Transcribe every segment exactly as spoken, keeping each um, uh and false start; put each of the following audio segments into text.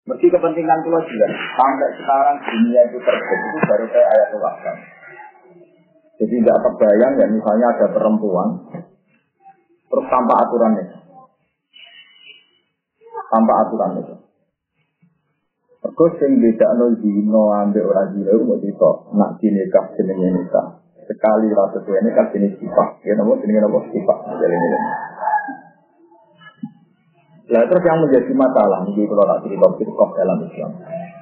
Mesti kepentingan itu juga. Sampai sekarang dunia itu terjadi itu baru kayak ayat Al-Ahzab. Jadi tidak terbayang ya misalnya ada perempuan terus tanpa aturan itu. Tanpa aturan itu. Terus yang beda no zino ambil orang zino itu mau dito nak dinikah jenenge nikah sekali rasa tuh nikah jenis sifat. Ya nama jenis nama sifat. Jadi ini. Nah terus yang menjadi masalah ini kalau tak cerita cerita dalam Islam.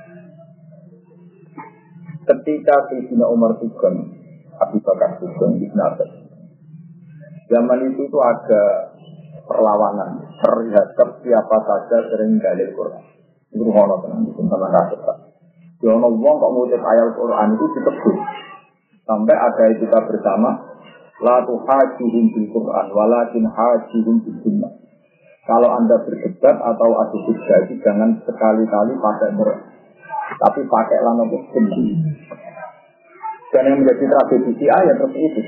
Ketika Sayyidina Umar Sugeng, Abu Bakar Sugeng, Ibn Abbas, zaman itu itu ada perlawanan terhadap siapa saja sering dalil Quran. Itu rumah tenang, itu tentang kasus. Jangan ngomong kok ngutip ayat Quran itu ditegur. Sampai ada kita bersama, la tuhajihim bil Quran, walakin hajihim bil sunnah. Kalau Anda berdebat atau adu hujah, jangan sekali-kali pakai Quran, tapi pakai lana sunnah. Dan yang menjadi tragedi ayat seperti itu.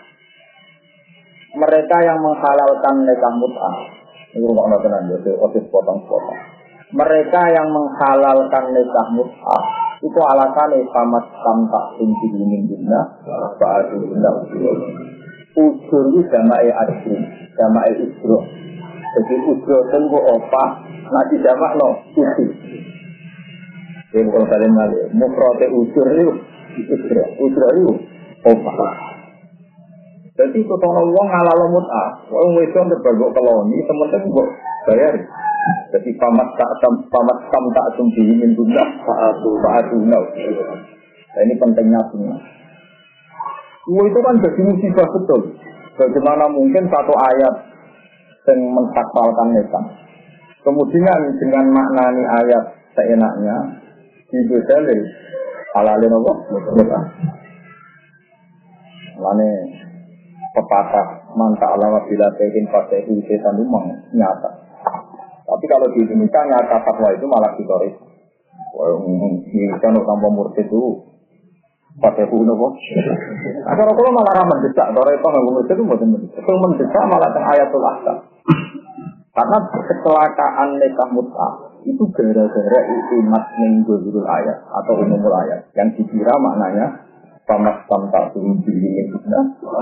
Mereka yang menghalalkan nikah mut'ah, ini rumah tenang, jadi otis potong-potong. Mereka yang menghalalkan nikah mut'ah itu alasannya sama tamtak tinggi ingin bina, ba'adu bina ujur. Ujur itu jama'i ajri, jama'i ujur. Jadi ujur itu opah, nanti jamak no ujur. Jadi kalau kalian ngali, mufrate ujur itu ujur, ujur itu opah. Jadi itu tolong uang halal mut'ah, uang itu berbagi koloni, teman-teman kok bayar. Jadi pamat tak pamat tam tak sumbi ingin bunda, paatu paatu nau. Nah ini pentingnya semua. Uang itu kan jadi musibah betul. Bagaimana mungkin satu ayat yang mensakpalkan nikah, kemudian dengan maknani ayat seenaknya dibedalin halalin apa? Mut'ah. Lane pepatah mantap alama bila tehin pakai setan lumang nyata. Tapi kalau di Indonesia nyata fatwa itu malah ditoris. Wah, ini kan tanpa murtid itu pakai bunuh kok. Agar kalau malah ramah desak, kalau itu nggak murtid itu bukan mendesak. Kalau mendesak malah tentang ayatul ahkam. Karena kecelakaan nikah mut'ah itu gara-gara imat menggulul ayat atau umumul ayat yang dikira maknanya pamat tamtak turun diri kita,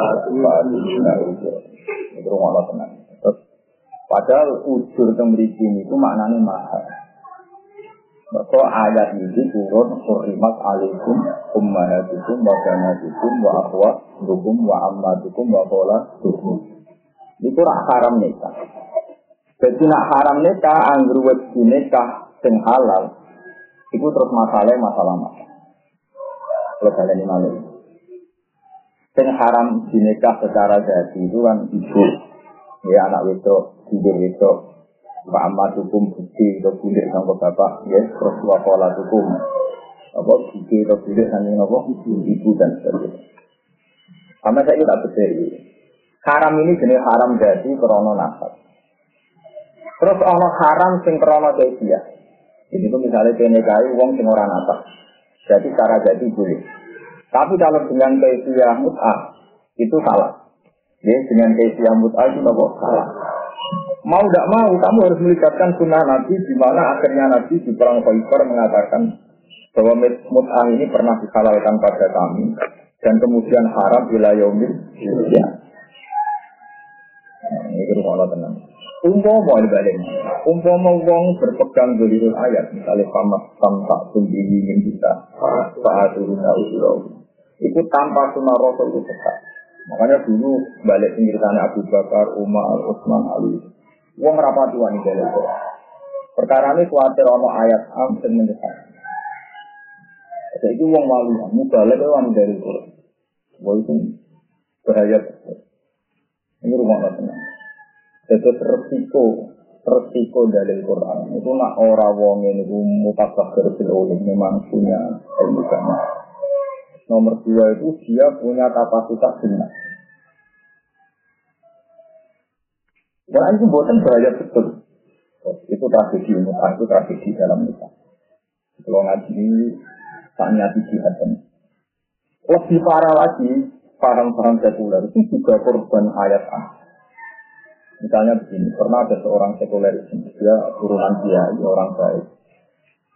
itu rumah tenang. Padahal ujur tembriki itu maknanya mahal. Maka ayat ini turun hurrimat alaikum ummahatukum wa banatukum wa akhwatukum wa ammatukum wa khalatukum. Itu rak haram nikah. Jadi nak haram nikah anggur wedi nikah sing halal. Iku terus masalah masalah masalah. Kalau kalian ini malu. Sing haram dinikah secara jadi itu kan ibu, ya anak wedok, ibu wedok, Pak Ahmad hukum bukti atau bulir sama bapak, ya terus wakola hukum, apa bukti atau bulir sama apa ibu dan sebagainya. Karena saya tidak berdiri. Haram ini jenis haram jadi krono nasab. Terus ono haram sing krono dia. Ini tuh misalnya penikahi uang sing ora nasab. Jadi cara jadi boleh. Tapi kalau dengan kaifiah mut'ah itu salah. Ya, dengan kaifiah mut'ah itu tidak salah. Mau tidak mau kamu harus melibatkan sunnah Nabi di mana akhirnya Nabi di perang Khaibar mengatakan bahwa mut'ah ini pernah dihalalkan pada kami dan kemudian haram ila yaumil qiyamah. Ini rumah tenang. Umpama balik, umpama wong berpegang dalil ayat, misalnya pamat tamtak tumbihi ingin kita, saat turun usul, itu tanpa sunnah Rasul itu sesat. Makanya dulu balik pengiritanya Abu Bakar, Umar, Utsman, Ali, wong rapati wanita itu. Perkara ini khawatir ono ayat am dan mendesak. Jadi itu wong malu, mubalik itu wanita itu. Wah itu bahaya. Ini rumah tenang. Itu resiko, resiko dalil Quran. Itu nak orang wong ini mutasakhir bil ulum memang punya ilmu banyak. Nomor dua itu dia punya kapasitas benar. Wah itu buatan bahaya betul. Itu tragedi mut'ah, itu tragedi dalam nikah. Kalau ngaji tanya di jihad. Lebih parah lagi, parang-parang sekuler itu juga korban ayat A. Misalnya begini, pernah ada seorang sekuler dia turunan dia, orang baik.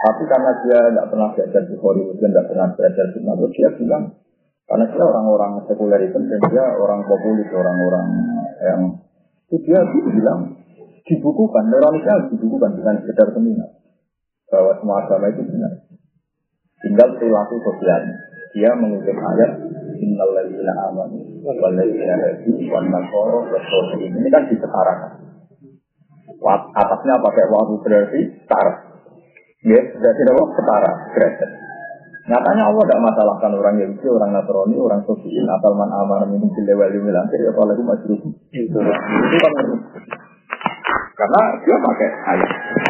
Tapi karena dia tidak pernah belajar di Hollywood dan tidak pernah belajar di Nabi, dia bilang karena dia orang-orang sekuler itu dan dia orang populis, orang-orang yang itu dia bilang dibukukan, Indonesia dibukukan bukan sekedar seminar bahwa semua agama itu benar. Tinggal perilaku sosialnya. Dia mengutip ayat innal ladzina amanu wal ladzina hadu wan nasara wasofiin. Ini kan disetarakan. Atasnya pakai wawu berarti setara. Ya, berarti apa? Setara, derajat. Nyatanya Allah tidak masalahkan orang Yahudi, orang Nasrani, orang Sofiin, asal man amana minum bilawal yumil akhir, apalagi majruf. Itu kan karena dia pakai ayat.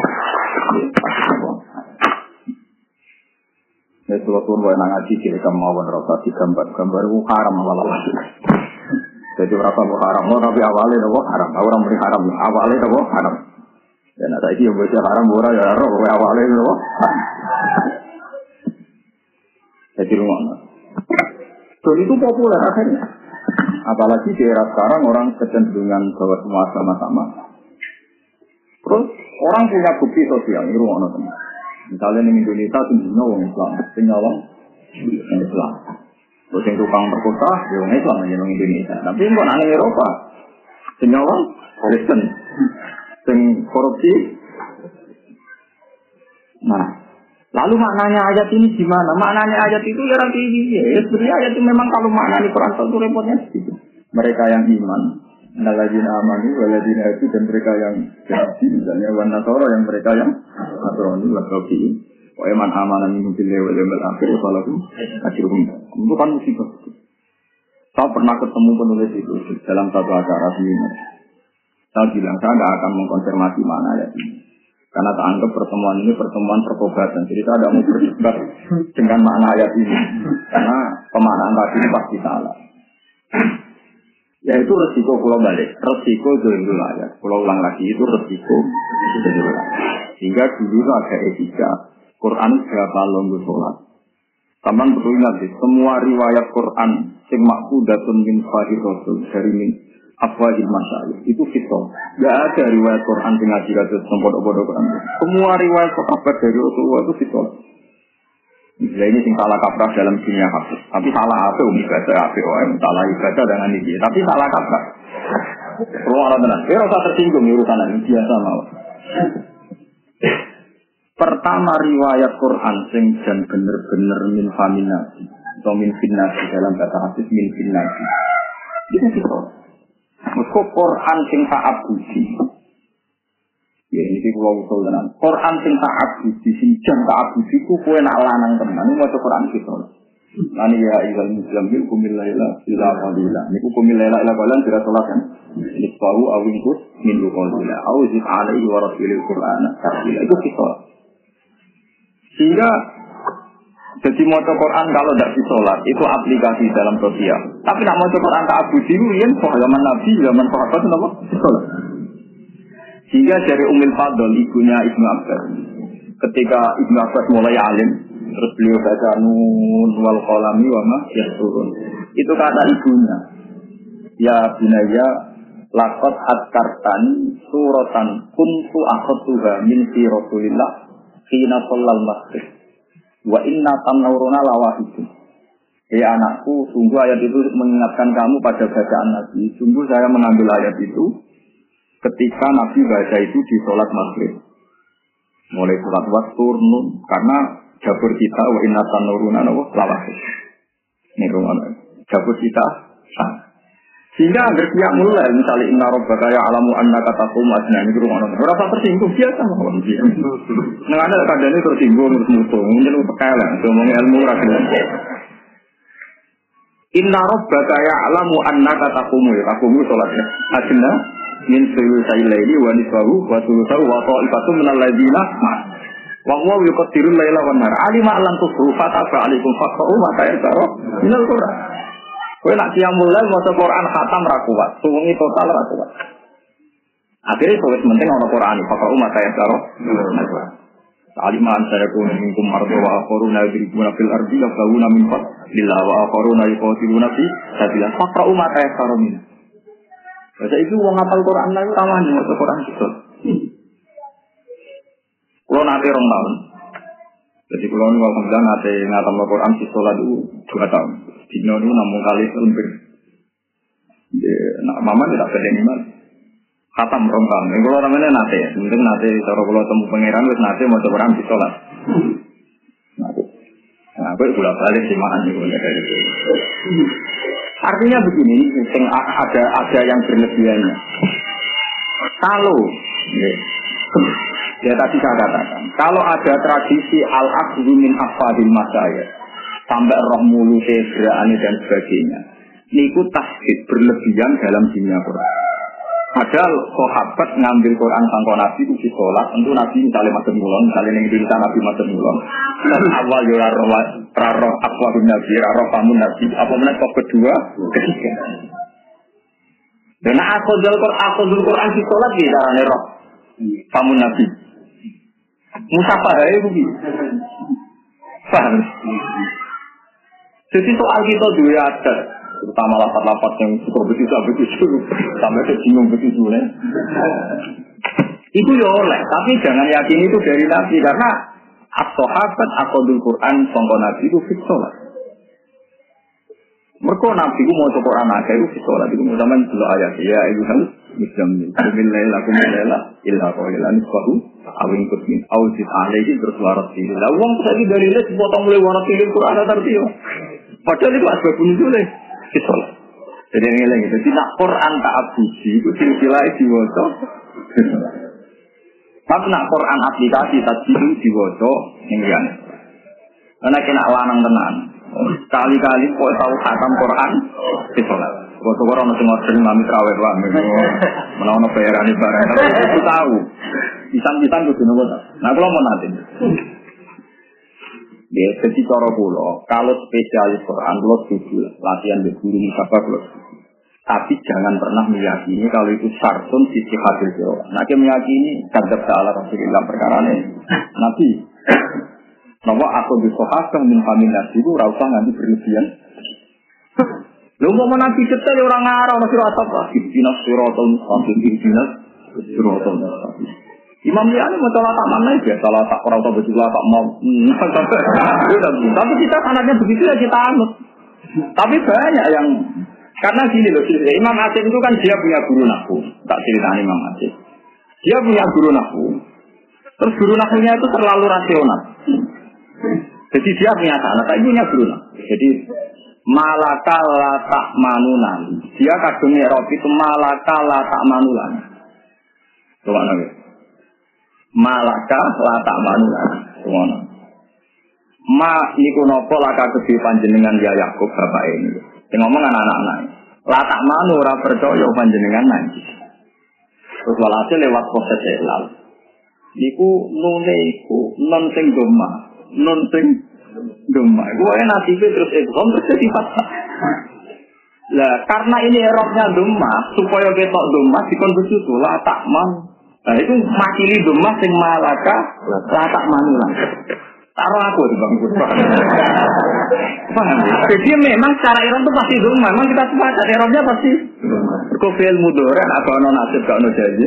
Ya, kalau tuan boleh ngaji kiri kemauan rasa di gambar-gambar itu haram malah. Jadi rasa itu haram, tapi awalnya itu haram. Orang beri haram, awalnya itu haram. Dan ada ini yang baca haram, orang ya roh, awalnya itu haram. Jadi rumah. Dan itu populer akhirnya. Apalagi di era sekarang orang kecenderungan bahwa semua sama-sama. Terus orang punya bukti sosial di rumah nonton. Misalnya di Indonesia tingginya orang Islam, tinggal orang Islam. Terus yang tukang perkota, orang Islam aja orang Indonesia. Tapi kok nang Eropa, tinggal orang Kristen, sing korupsi. Nah, lalu maknanya ayat ini gimana? Maknanya ayat itu ya nanti ini ya. Sebenarnya ayat itu memang kalau maknanya Quran itu repotnya gitu. Mereka yang iman, alladzina amanu walladzina hadu dan mereka yang Yahudi misalnya wan nasara yang mereka yang Nasrani wa Sofiin. Wa man amana minhum billahi wal yawmil akhir falahu ajruhum. Itu kan musibah. Saya pernah ketemu penulis itu dalam satu acara seminar. Saya bilang saya tidak akan mengkonfirmasi mana ayat ini. Karena tak anggap pertemuan ini pertemuan pertobatan. Jadi saya tidak mau berdebat dengan makna ayat ini. Karena pemaknaan tadi pasti salah. Ya itu resiko pulau balik. Resiko dulu ayat. Pulau ulang lagi itu resiko dulu. Sehingga dulu ada etika. Quran berapa longgo sholat. Taman perlu ingat semua riwayat Quran sing maksudatun min fahir rasul dari min afwahil masyayikh itu fitnah. Enggak ada riwayat Quran sing ngaji kados podo-podo Quran. Semua riwayat sahabat dari Rasulullah itu fitnah. Misalnya ini sing salah kaprah dalam dunia hadis. Tapi salah apa ibadah apa wae salah ibadah dengan ini. Tapi salah kaprah. Ruang tenan. Dia rasa tersinggung urusan ini biasa mawon. Pertama riwayat Quran sing jan bener-bener min faminasi atau min finnasi dalam bahasa hadis min finnasi. Itu fitnah. Mereka Quran sing ta'abudi. Ya ini kalau usul tenan. Quran sing ta'abudi, sing jan ta'abudi ku kowe nak lanang tenan maca Quran kita. Lan ya ayyuhal muslimin qumil laila ila qalila. Niku qumil laila ila qalila kira salat kan. Nisfahu aw inqus min qalila. Aw zid alaihi wa rasulil Qur'ana tartila. Itu kita. Sehingga jadi mau Quran kalau tidak disolat itu aplikasi dalam sosial. Tapi nak mau Quran tak abudi itu yang zaman Nabi, zaman sahabat itu apa? Disolat. Sehingga dari Ummul Fadl ibunya Ibnu Abbas, ketika Ibnu Abbas mulai alim, terus beliau baca nun wal qalami wa ma yasturun. Itu kata ibunya, ya bunayya laqad adkartani suratan kuntu akhadtuha min fi Rasulillah hina shallal maghrib. Wa inna tanawruna lawahidun. Ya anakku, sungguh ayat itu mengingatkan kamu pada bacaan Nabi. Sungguh saya mengambil ayat itu ketika Nabi baca itu di sholat maghrib. Mulai sholat wastur nun karena jabur kita wa inna tanawruna lawahid. Ini rumah jabur kita sah. Sehingga agar dia mulai misalnya inna rabbaka ya'lamu annaka taqumu adna ini rumah orang berapa tersinggung biasa mawon dia. Nang ada kadane tersinggung terus mutu, mungkin pekelen ngomong ilmu ra kena. Inna rabbaka ya'lamu annaka taqumu taqumu salatnya. Adna min sulusaili wa nisfahu wa sulusahu wa ta'ifatum minal ladzina wa huwa yuqaddirul laila wan nahar alima lan tusru fataba alaikum faqra'u ma ta'ala minal Qur'an. Kowe nak qiyamul lail maca Quran khatam ra kuat, suwengi total ra kuat. Akhire wis penting ana Quran, pokok umat saya karo. Aliman saya kun minkum mardu wa akharuna yadribuna fil ardi yaquluna min fadlillah wa akharuna yuqatiluna fi sabilillah. Pokok umat saya karo min. Baca itu wong hafal Quran lha tamane maca Quran itu. Kulo nate rong taun. Jadi kalau ini alhamdulillah nanti ngatam Al-Quran di sholat itu dua tahun. Dino itu namun kali selempir. Nah, mama tidak pedeng iman. Khatam rombang. Ini kalau namanya nanti ya. Mungkin nanti kalau kalau temu pangeran, terus nanti mau Quran di sholat. Nah, aku itu bolak balik sih makan itu. Artinya begini, ada ada yang berlebihannya. Kalau ya tadi saya katakan, kalau ada tradisi al-akhdhu min afadil masyayikh sampai roh mulut gerakan dan sebagainya, niku tasbih berlebihan dalam dunia Quran. Padahal sahabat ngambil Quran sangko Nabi itu di sholat, tentu Nabi misalnya macam mulon, misalnya yang Indonesia Nabi macam mulon. Dan awal ya roh roh akwabun Nabi, roh pamun Nabi, apa mana kok kedua, ketiga. Dan akhudul Quran, akhudul Quran di sholat di darahnya roh pamun Nabi. Musafah ya begitu. Paham? Jadi soal kita juga ada, terutama lapat-lapat yang super begitu-begitu, sampai kesinggung begitu ya. Itu ya oleh, tapi jangan yakin itu dari Nabi karena as-sahabat akhudul Quran sangka Nabi itu fit sholat. Mereka Nabi itu mau coba Quran aja itu fit sholat itu sama dulu ayat ya ibu harus muslimin. Bismillah kumillah illa qailan nisbahu awin kutmin awzid alaihi terus warat pilih. Lah wong tadi dari les potong mulai warat pilih Quran arti yo. Padahal itu asbab nuzul fit sholat. Jadi ngene gitu. Tidak Quran tak abuji itu silsilah diwaca. Tapi nak Quran aplikasi tajwid diwaca ning ngene. Ana kena lanang tenan. Kali-kali kok tahu khatam Quran di sholat. Kok ora ono sing ngorden mami traweh wae. Menawa bayarane barang tapi itu tahu. Pisan-pisan kudu nopo ta. Nah kula mau nanti. Ya, jadi cara kula, kalau spesialis Quran kula setuju latihan di guru musafah kula. Tapi jangan pernah meyakini kalau itu syartun sisi hadil jawab. Nah, kita meyakini kadzab ta'ala Rasulullah perkara ini. Nabi Nama aku disohaskan min kami nasi itu rasa nanti berlebihan. Lu mau nabi detail orang ngarang masih rasa apa? Ibnas sirotol mustaqim, ibnas sirotol mustaqim. Imam Liani mau salah tak mana ya? Salah tak orang tahu betul tak mau. Tapi kita anaknya begitu ya kita anut. Tapi banyak yang karena gini loh, Imam Asyik itu kan dia punya guru nahwu. Tak ceritain Imam Asyik. Dia punya guru nahwu. Terus guru nahwunya itu terlalu rasional. Jadi dia punya anak, tapi punya guru. Jadi malaka la tak manunan. Dia kadungnya Rob itu malaka la tak manulan. Coba nanti. Malaka la tak manulan. Coba. Ma niku nopo laka kedhi panjenengan ya Yakub bapak ini. Sing ngomong anak-anak. La tak manu ora percaya panjenengan nanti. Terus walhasil lewat proses elal. Niku nune iku non sing doma. Non sing doma. Gue nanti terus idgham terus jadi fathah. Lah karena ini eroknya doma, supaya ketok doma dikon besusu la tak man. Nah itu makili doma sing malaka la tak manulah. Taruh aku di bang paham? Jadi memang secara erok itu pasti doma. Memang kita sepakat eroknya pasti kofil mudoran atau non nasib gak non jadi.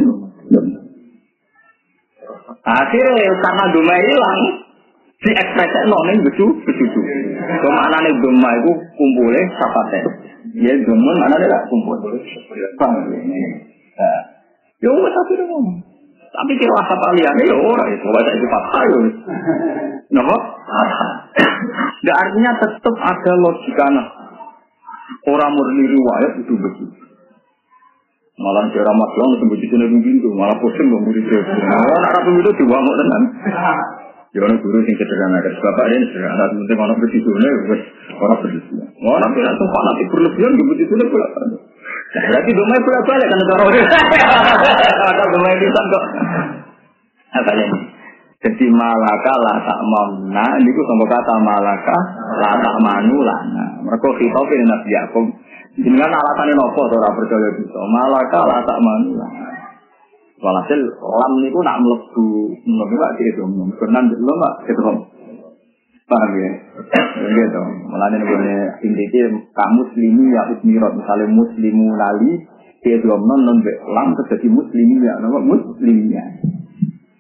Akhirnya karena doma hilang. Si ekspresi noning betul betul. Kemana nih doma itu kumpulnya sapate. Ya doma mana dia kumpul. Paham ini. Ya udah tapi dong. Tapi kira asap aliannya ya orang itu baca itu patah ya. Kenapa? Dan artinya tetap ada logikanya. Orang murni riwayat itu begitu. Malah cara masalah itu begitu nih begitu. Malah pusing dong begitu. Orang Arab itu dibangun tenan. Ya orang guru yang sederhana, bapak ini sederhana, penting orang begitu nih, orang begitu. Orang tidak sempat nanti berlebihan begitu nih pula. Berarti domai pula balik kan cara orang. Ada domai bisa kok. Apa ini? Jadi malaka la tak mamna, ini ku sama kata malaka la tak manula. Mereka khitobin Nabi Yakub. Dengan alasannya nopo, orang percaya gitu. Malaka la tak manula. Walhasil lam niku nak mlebu mlebu gak gitu. Kenan dulu enggak gitu. Paham ya? Gitu. Mulane ngene inti kamu muslimi ya usmirat misale muslimu lali dia belum non non lam terjadi muslimi ya nama muslimnya.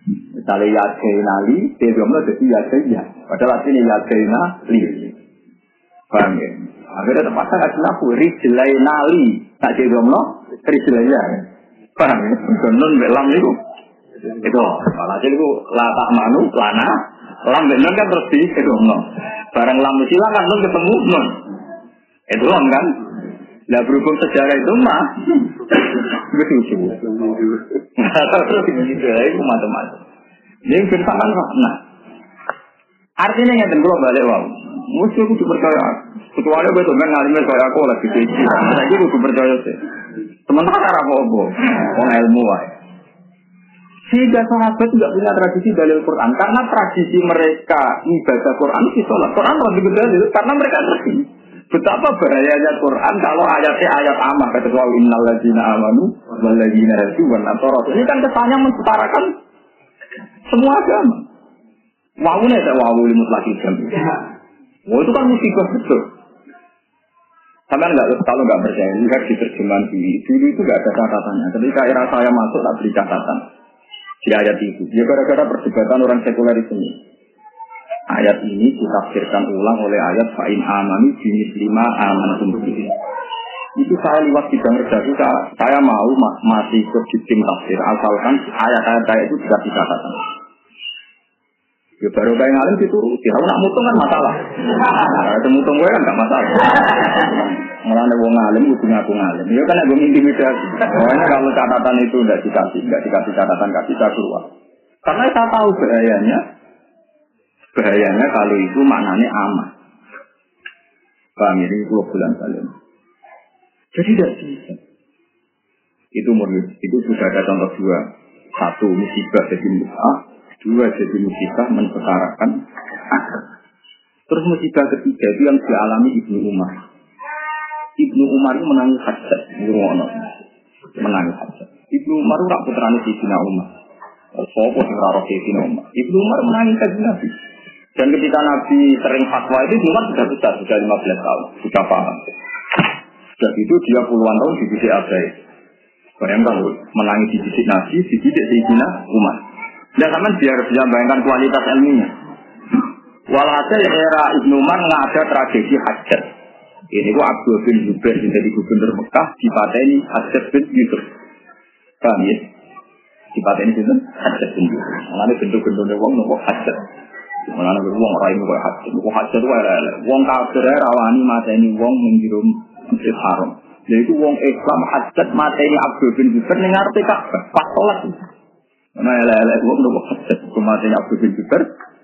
Misalnya Yadena li, dia bilang jadi Yadena. Padahal artinya Yadena li. Paham ya? Akhirnya terpaksa kasih laku, Rijlaina li. Tak dia bilang, Rijlaina. Paham ya? Nun belam itu. Itu. Malah itu lata manu, lana. Lam benar kan terus di, itu. Barang lam silang kan nun ketemu nun. Itu kan? Nah berhubung sejarah itu mah begitu. Terus begitu itu macam-macam. Jadi bersamaan nah. Artinya yang tentu balik wow. Mesti aku percaya. Kecuali betul kan ngalimnya kayak aku lagi kecil. Jadi aku percaya sih. Sementara apa-apa, orang ilmu wae. Sehingga sahabat tidak punya tradisi dalil Quran karena tradisi mereka ibadah Quran itu sholat. Quran lebih dalil karena mereka ngerti. Betapa bahayanya Quran kalau ayatnya ayat amah kata Allah innal ladzina amanu wal ladzina hadu wan nasara. Ini kan kesannya mensetarakan semua agama. Wawune tak wawu mutlaki jam. Oh itu kan musibah betul. Sampai enggak kalau enggak percaya lihat di terjemahan dulu. Dulu itu enggak ada catatannya. Ketika era saya masuk tak beri catatan di ayat itu. Ya gara-gara perdebatan orang sekuler ini. Ayat ini ditafsirkan ulang oleh ayat fa'in amani jenis lima amantum bihi. Itu saya lewat sidang redaksi, saya mau ma- masih ikut di tim tafsir asalkan ayat-ayat saya itu tidak dikatakan. Ya baru kayak ngalim dituruti, kalau nak mutung kan masalah. Nah, itu mutung gue kan gak masalah. Malah wong ngalim itu ngaku ngalim. Ya kan gue intimidasi. Pokoknya kalau catatan itu tidak dikasih, tidak dikasih catatan kasih saya keluar. Karena saya tahu bahayanya. Bahayanya kalau itu maknanya aman. Paham ini dua bulan kalian. Jadi tidak bisa. Itu murni. Itu sudah ada contoh dua. Satu musibah jadi musibah. Dua jadi musibah mensetarakan akal. Terus musibah ketiga itu yang dialami Ibnu Umar. Ibnu Umar itu menangis hajat. Menangis hajat. Ibnu Umar itu rak putrane Sayyidina Umar. Sopo sing ora Sayyidina Umar. Ibnu Umar menangis kanjeng Nabi. Dan ketika Nabi sering fatwa itu Umar sudah besar, sudah lima belas tahun, sudah paham. Sejak itu dia puluhan tahun dididik abai. Bayangkan menangis dididik Nabi, dididik Sayyidina Umar. Dan sama biar bisa bayangkan kualitas ilminya. Walhasil era Ibnu Umar nggak ada tragedi hajat. Ini gua Abdul bin Zubair yang jadi gubernur Mekah dipateni Hajjaj bin Yusuf. Paham ya? Dipateni itu Hajjaj bin Yusuf. Mulane bentuk-bentuknya wong nopo Hajjaj. Mulane wong ora iso koyo Hajjaj. Kok Hajjaj wae lele. Wong kafir rawani mateni wong ning jero Masjid Haram. Yaitu wong Islam Hajjaj mateni Abdul bin Zubair ning ngarepe Ka'bah pas salat. Nah lele wong nopo Hajjaj mateni Abdul bin Zubair.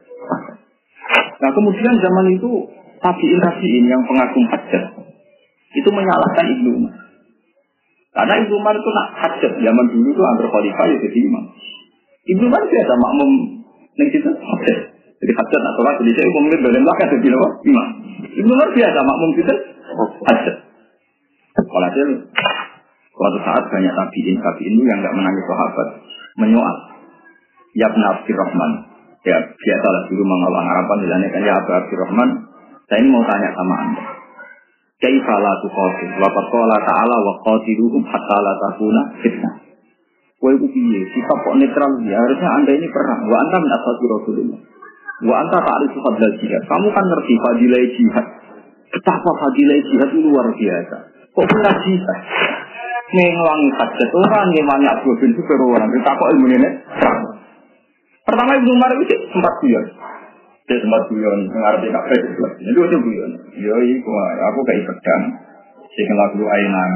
Nah kemudian zaman itu tabi'in-tabi'in yang pengagum hajat itu menyalahkan Ibnu Umar. Karena Ibnu Umar itu nak hajat zaman dulu itu antar khalifah ya jadi imam. Ibnu Umar biasa makmum ning situ hajat. Jadi hajat nak sholat jadi saya umum badan belakang jadi apa? Imam. Ibnu Umar biasa makmum situ hajat. Walhasil suatu saat banyak tabi'in tabi'in itu yang enggak menangis sahabat menyoal. Ya Ibnu Abdurrahman. Ya biasalah dulu mengawal harapan misalnya kan ya Abu Abdurrahman. Saya ini mau tanya sama anda. Kaifa la tuqatil wa qala ta'ala wa qatiluhum hatta la takuna fitnah. Kowe ku piye? Sikap kok netral ya harusnya anda ini perang. Wa anta min ashabi Rasulullah. Wa anta ta'rifu fadlal jihad. Kamu kan ngerti fadilah jihad. Betapa fadilah jihad itu luar biasa. Kok punya jihad? Ngewangi hajat orang, ngewangi Abdul bin Zubair orang. Kita kok ilmu ini? Pertama Ibnu Umar itu sempat guyon. Dia sempat guyon, mengarti kafe itu. Itu itu guyon. Yo, iku aku kayak pedang. Sing lagu ainan,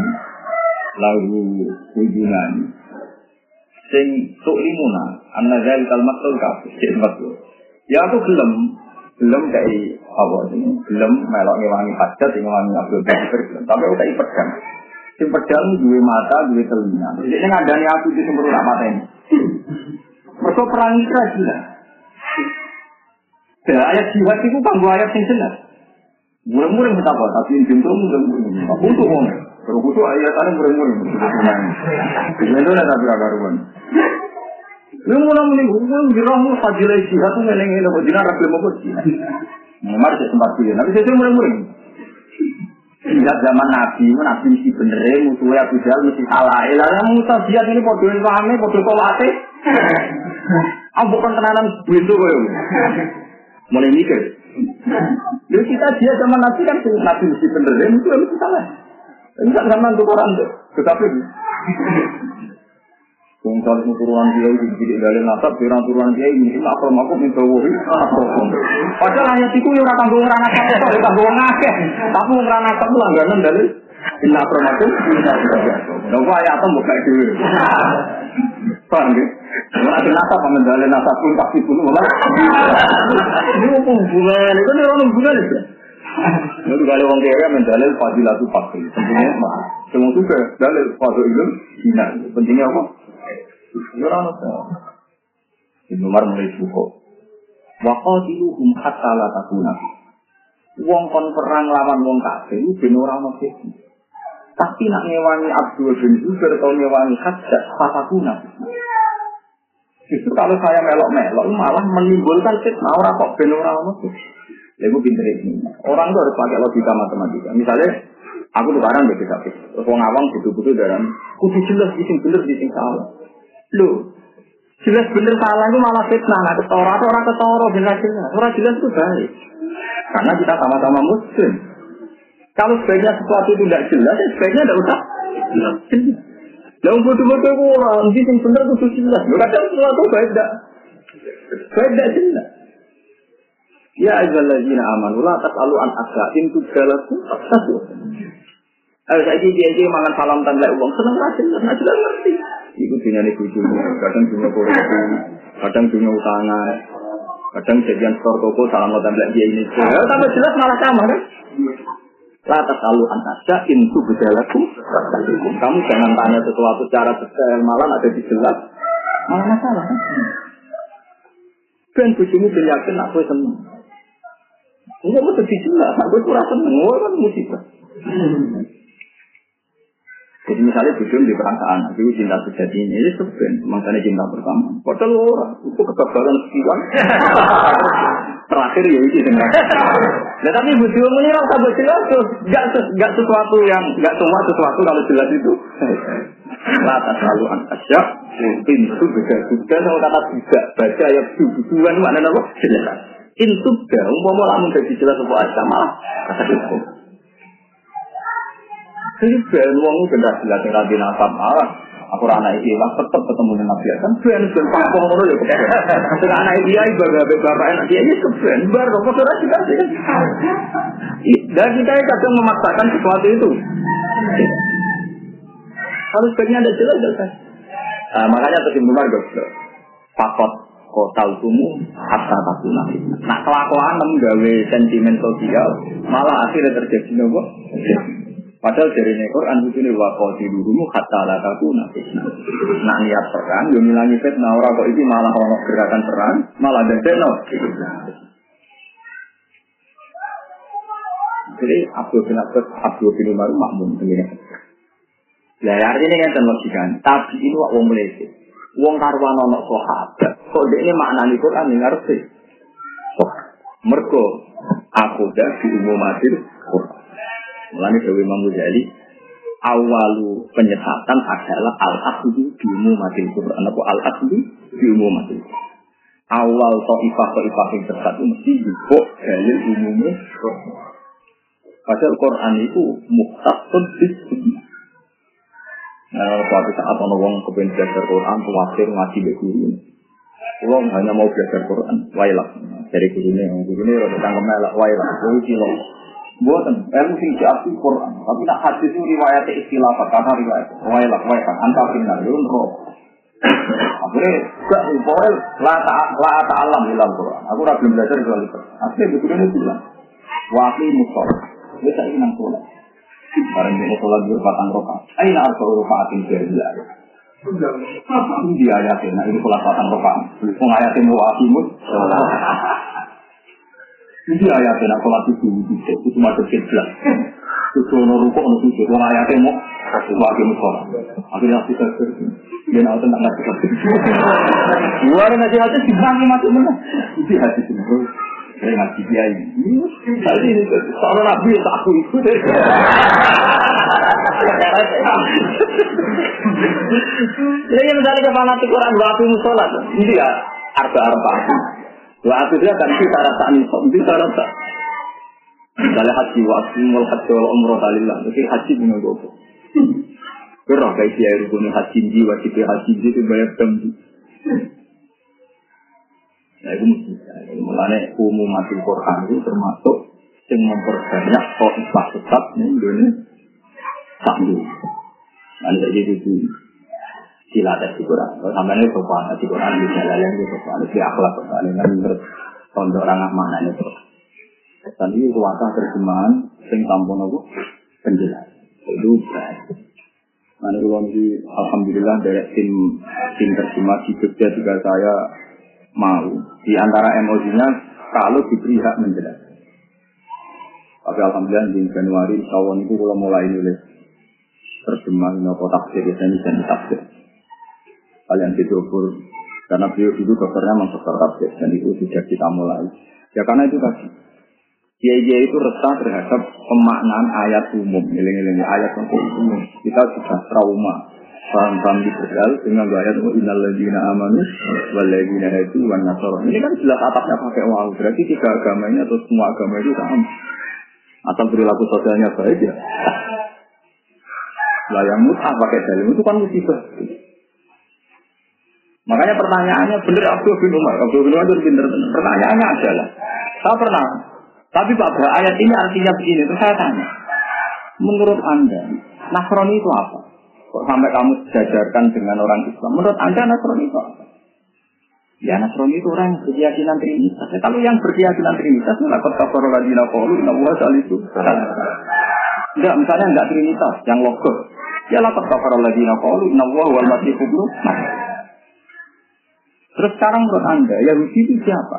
lagu hubungan. Sing tuk limuna, an-nazal kalmatul kafe. Dia sempat guyon. Ya aku gelem, gelem kayak apa ini? Gelem melok ngewangi hajat, ngewangi Abdul bin Zubair. Tapi aku kayak pedang. Sing pedang duwe mata, duwe telinga. Jadi ngadani aku di sumber mata ini. Mereka perang Isra gila. Ya, ayat jihad itu kan dua ayat yang jelas. Murah-murah betapa, tapi yang pintu murah-murah. Aku tuh ngomong. Kalau aku tuh ayat-ayat murah-murah. Itu ada tapi akaruan. Ini murah-murah. Aku dirahmu fadilah jihad itu ngeleng-ngeleng. Aku dirah rakyat mau jihad. Memang saya sempat pilih. Tapi saya murah-murah. Jihad zaman Nabi, Nabi mesti bener. Musuhnya Abu Jahal mesti salah. Elahnya Musa jihad ini podoin pahami, podoin kolate. Ah bukan tenanan begitu kok. Mulai mikir. Lalu kita dia zaman Nabi kan Nabi mesti bener, itu harus salah. Enggak zaman untuk orang tuh, tetapi Bungkal turunan dia itu jadi dari nasab, turunan dia ini tak pernah aku minta wahyu. Padahal ayat itu yang orang tanggung orang nasab, orang tanggung ngakeh. Tapi orang nasab langganan dari inna promatum, inna promatum. Nopo ayat itu bukan itu. Paham ya? Ada nasab, menjalani nasab pun pasti pun malah. Ini apa hubungan? Itu ni orang hubungan itu. Lalu kalau orang kaya menjalani fadilatu fakir, pentingnya mah. Semua tu ke dalil fadil ilmu, ina. Pentingnya apa? Orang apa? Ibnu Umar mulai buka. Waqatiluhum hatta la takuna. Wong kon perang lawan wong kafir itu ben ora ono sih. Tapi nak ngewangi Abdul bin Zubair atau ngewangi Hajjaj fatakuna. Justru kalau saya melok-melok malah menimbulkan fitnah ora kok ben ora ono sih. Lha iku pinter iki. Orang itu harus pakai logika matematika. Misalnya aku tukaran mbek kafir. Wong awam butuh-butuh dalam kudu jelas sing bener sing salah. Loh, jelas bener salah itu malah fitnah, nah ketara atau orang ketara bener jelas, orang jelas itu baik, karena kita sama-sama muslim. Kalau sebaiknya sesuatu itu tidak jelas, ya sebaiknya tidak usah jelas. Yang betul-betul orang, nanti yang bener itu jelas. Kadang sesuatu baik tidak, baik tidak jelas. Ya ayyuhallazina amanu la tas'alu an asa'in tudalakum fasatu. Ayo saya dia mangan salam tanda uang seneng ra jelas, ra jelas ngerti. Iku dunyane bojomu, kadang dunya korupsi, kadang dunya utangan, kadang jadian store toko salam tanda dia ini. Ya tambah jelas malah sama kan? La tasalu an asya in tubdalakum fasatukum. Kamu jangan tanya sesuatu secara detail, malah ada di jelas. Malah masalah kan? Ben bojomu ben yakin nak kowe seneng. Enggak mesti dijelas, nak kowe ora seneng, ora kan musibah. Jadi misalnya bujum di perasaan, itu cinta sejatinya, ini sebenarnya makanya cinta pertama. Padahal orang, itu kegagalan sekian. Terakhir ya itu dengan. Nah tapi bujum ini rasa jelas, gak, gak sesuatu yang, gak semua sesuatu kalau jelas itu. Lata selalu antasya, pintu beda-beda, sama kata tidak, baca ayat bujuan, maknanya apa? Jelas. Pintu beda, umpama lamun jadi jelas sebuah aja, malah kata hukum. Jadi ben wong itu benar jelas yang Nabi Nasab malah aku anak iki lah tetep ketemu dengan Nabi kan ben ben papo ngono ya kok. Sing anak iki ae bapak bapak enak dia iki ben bar kok ora juga sih. Dan kita kadang memaksakan sesuatu itu. Harus sebenarnya ada jelas jelas. Nah, makanya kesimpulan dokter. Fakot kota hukumu hatta takuna. Nah kelakuan menggawe sentimen sosial malah akhirnya terjadi nopo. Padahal dari Quran itu nih waktu dulumu kata lataku nafis. Nak niat perang, yo milangi fitnah orang kok itu malah orang gerakan perang, malah dedeno. Jadi Abdul bin Abbas, Abdul bin Umar makmum begini. Ya artinya kan terlogika. Tapi ini wong Malaysia, wong karwan ono sahabat. Kok ini maknanya Quran yang ngerti. Oh, mergo aku dah di umumatil Quran. Mulanya Dewi Imam Ghazali awalu penyesatan adalah al-aslu di umumatil Quran atau al-aslu di umumatil Quran. Awal ta'ifah-ta'ifah yang tersat itu mesti juga dalil umumnya Quran. Padahal Quran itu muhtasun bismillah. Nah, suatu saat orang kepengen belajar Quran, tawafir ngaji ke guru. Orang hanya mau belajar Quran, wailah dari gurunya, gurunya rada cangkem elak wailah, itu cilok. Buatan, ilmu sing diarti Quran, tapi nak hadis itu riwayatnya istilah kata riwayat, wailah, wailah, antar final, yun roh. Akhirnya, gak boleh la ta'alam ilal Quran. Aku dah belum belajar soal itu. Akhirnya betulnya bilang, waqi musolah, dia tak ingin sholat. Barang dia sholat berpatang rokaat. Aina arsa rokaatin berbilah. Ini dia ayatin, nah ini sholat patang rokaat. Mengayatin waqi musolah. Ini ayatnya nak sholat itu itu cuma terkejut. Itu ono rukuk ono sujud. Wong ayatnya mau wajib sholat. Akhirnya kita dia nak tentang nasi kopi. Luar nasi hati dibangi masuk mana? Itu hati semua. Saya ngaji dia ini. Tadi ini seorang nabi tak aku ikut. Jadi misalnya kepala Quran wajib sholat. Ini ya. arba arba. Wa akhirnya kan kita rasa nih, kita rasa. Misalnya haji wa akmul haji wal umroh dalillah, jadi haji dengan gopo. Berapa kayak dia rukun haji ji, wajib haji ji itu banyak tembi. Nah itu mesti. Mulanya umumatul Quran itu termasuk yang memperbanyak kok tetap nih Indonesia satu. Nanti jadi itu dilatih di Quran. Kalau sampai ini sopan di Quran bisa layan di sopan di akhlak sopan dengan menurut contoh orang mana itu. Tadi kuasa terjemahan sing tampun aku penjelas. Itu baik. Nanti kalau di alhamdulillah dari tim tim terjemah di Jogja juga saya mau di antara emosinya kalau diberi hak menjelaskan. Tapi alhamdulillah di Januari tahun itu kalau mulai nulis terjemah nopo tafsir biasanya jadi tafsir. Kalian didobur karena beliau dulu dokternya memang dokter tafsir dan itu sudah kita mulai. Ya karena itu tadi. Kiai-kiai itu resah terhadap pemaknaan ayat umum, nilai-nilai ayat umum. Kita sudah trauma, paham-paham liberal dengan ayat innal ladzina amanu wal ladzina hadu wan nasara. Ini kan jelas atapnya pakai waw, berarti tiga agama ini atau semua agama itu sama. Atau perilaku sosialnya baik ya. Lah yang mutah pakai dalil itu kan musibah. Makanya pertanyaannya benar Abdul bin Umar, Abdul bin Umar itu pintar. Pertanyaannya adalah, saya pernah, tapi Pak Bra, ayat ini artinya begini. Terus saya tanya, menurut Anda, Nasrani itu apa? Kok sampai kamu sejajarkan dengan orang Islam? Menurut Anda Nasrani itu apa? Ya Nasrani itu orang yang berkeyakinan Trinitas. Ya, kalau yang berkeyakinan Trinitas, lakot kafaro ladina qalu inna Allaha salisu. Enggak, misalnya enggak Trinitas, yang logos. Ya lakot kafaro ladina qalu inna Allaha wal masih ibnu Maryam. Terus sekarang menurut Anda, Yahudi itu siapa?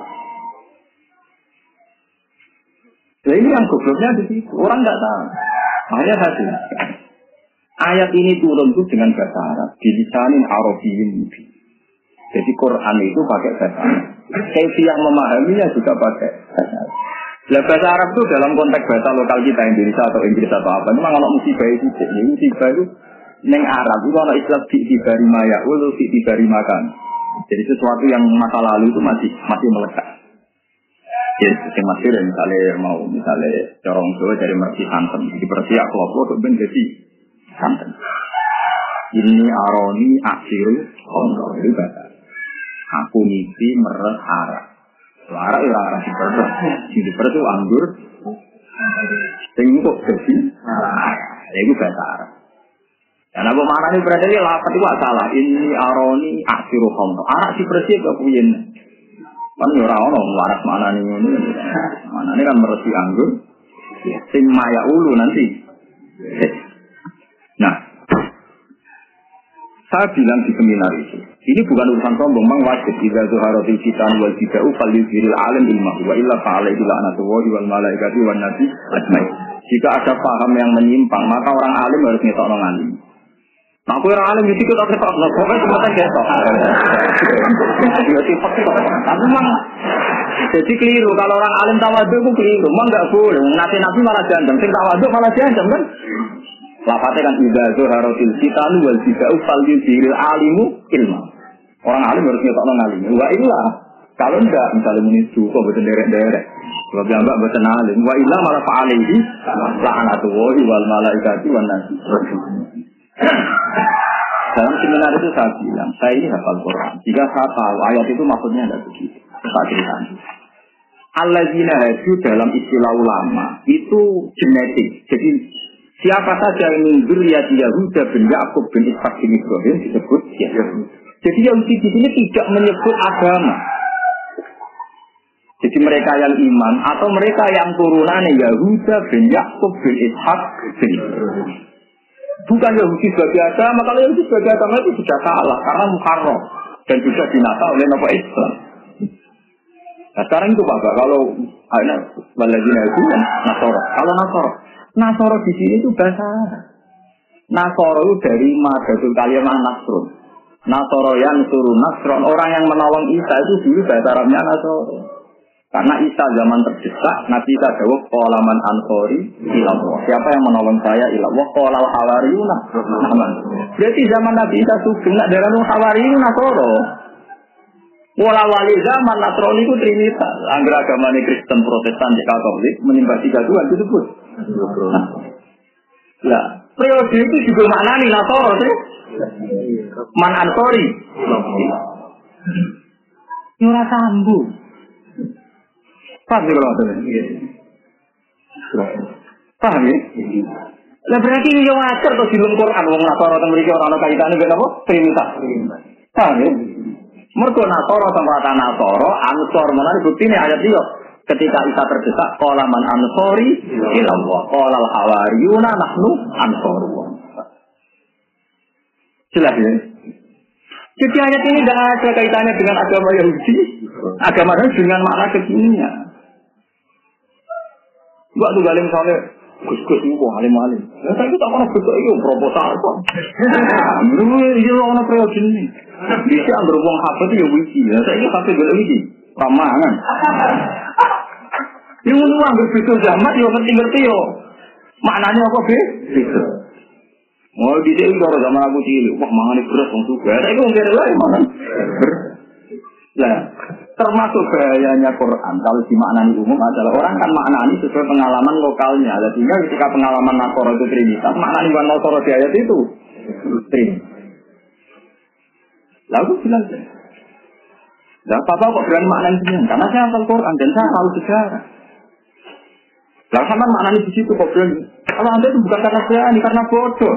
Ya ini yang gobloknya di situ. Orang enggak tahu. Makanya tadi ayat ini turun itu dengan bahasa Arab, bilisanin Arabiyyin mubin. Jadi Quran itu pakai bahasa Arab. Kaifiyah memahaminya juga pakai bahasa Arab. Nah, bahasa Arab itu dalam konteks bahasa lokal kita Indonesia atau Inggris atau apa. Memang kalau musibah itu, ya, musibah itu neng Arab itu kalau istilah fi'tibari maya, ulu fi'tibari makan. Jadi sesuatu yang masa lalu itu masih masih melekat. Ya, yang masih ada misalnya mau misalnya corong Jawa dari Mersi santen, di Persia kelompok itu menjadi santen. Ini aroni aksiru kontrol itu bahasa. Aku mimpi meres arah. Arah itu arah di perut. Di perut itu anggur. Tengok jadi arah. Itu bahasa Arab. Dan apa maknanya berarti ini lapat itu salah. Ini aroni aksiru kontrol. Arah di perut itu kepuyen. Kan orang-orang waras maknanya ini. Maknanya kan meres di anggur. Sing maya ulu nanti. Nah. Saya bilang di seminar itu, ini bukan urusan sombong, memang wajib. Jika zuharatil fitan wal bid'ah fal yuzhiril alim ilmahu wa illa fa'alaihi la'natullahi wal malaikati wan nasi ajmain. Jika ada paham yang menyimpang, maka orang alim harus ngetokno ngalim. Nah, aku orang alim itu kita ketok, nah, pokoknya semuanya ketok. Tapi memang, jadi keliru. Kalau orang alim tawadhu itu keliru, memang nggak boleh. Nanti nabi malah jandam, sing tawadhu malah jandam kan? Lafadznya kan idza zuharatil fitan wal bid'ah fal yuzhiril alimu ilma. Orang alim harus ngetokno ngalim. Wa illa kalau enggak misalnya menisu kok boten derek-derek. Sebab enggak boten alim. Wa illa malah fa'alaihi la'natullahi wal malaikati wan nasi. Dalam seminar itu saya bilang, saya ini hafal Quran. Jika saya tahu ayat itu maksudnya tidak begitu. Saya ceritakan. Alladzina hadu dalam istilah ulama itu genetik. Jadi siapa saja yang mengundur ya Yahuda bin Yakub bin Ishak bin Ibrahim disebut Yahudi. Jadi Yahudi di sini tidak menyebut agama. Jadi mereka yang iman atau mereka yang turunannya Yahuda bin Yakub bin Ishak bin Ibrahim. Bukan Yahudi sebagai agama. Kalau Yahudi sebagai agama itu sudah salah karena muharram dan juga dinata oleh Nabi Islam. Nah sekarang itu Pak, kalau ada Waladina itu Nasoro. Kalau Nasoro Nasoro di sini itu bahasa Arab. Nasoro itu dari madatul kalimah Nasrun. Nasoro yang suruh Nasron, orang yang menolong Isa itu dulu bahasa Arabnya Nasoro. Karena Isa zaman terdesak, Nabi Isa jawab qolaman ansori ilallah. Siapa yang menolong saya ilallah? Qolal hawariyuna. Berarti zaman Nabi Isa sugeng nak darah hawariyun Nasoro. Wala wali zaman Nasrani itu Trinitas. Angger agamane Kristen, Protestan, Katolik menyembah tiga Tuhan disebut. Nah, ya, periode itu juga maknani Nasoro sih. Man Ansori. Ora sambung. Paham ya kalau ada? Paham ya? Lah berarti ini yang wajar atau di dalam Quran wong Nasoro teng mriki ora ana kaitane mek napa? Trinitas. Paham ya? Mergo Nasoro tempat Nasoro, Ansor menawa buktine ayat iki ketika Isa terdesak qala man ansori ila Allah qala al hawariyuna nahnu ansorullah. Jelas ya? Jadi ayat ini tidak ada kaitannya dengan agama Yahudi, agama Yahudi dengan makna kekinian. Buat tuh galing misalnya gus-gus itu alim-alim. Ya saya tak pernah besok itu proposal kok. Ini dia orang periode ini. Bisa ambil uang H P itu ya wiki. Ya saya ini H P gak wiki. Ramangan. Ini mau ambil besok zaman ya ngerti-ngerti yo. Maknanya apa be? Besok. Oh di sini kalau zaman aku cilik, wah mangan beras wong suga. Saya itu mungkin lah mangan beras. Lah termasuk bahayanya Quran kalau dimaknani umum adalah orang kan maknani sesuai pengalaman lokalnya. Sehingga ketika pengalaman Nasoro itu Trinitas, maknani bukan Nasoro di ayat itu Trinitas. Lalu bilang, lah papa kok berani maknani sini? Karena saya hafal Quran dan saya tahu sejarah. Lah sama maknani di situ kok berani? Kalau anda itu bukan karena berani, karena bodoh.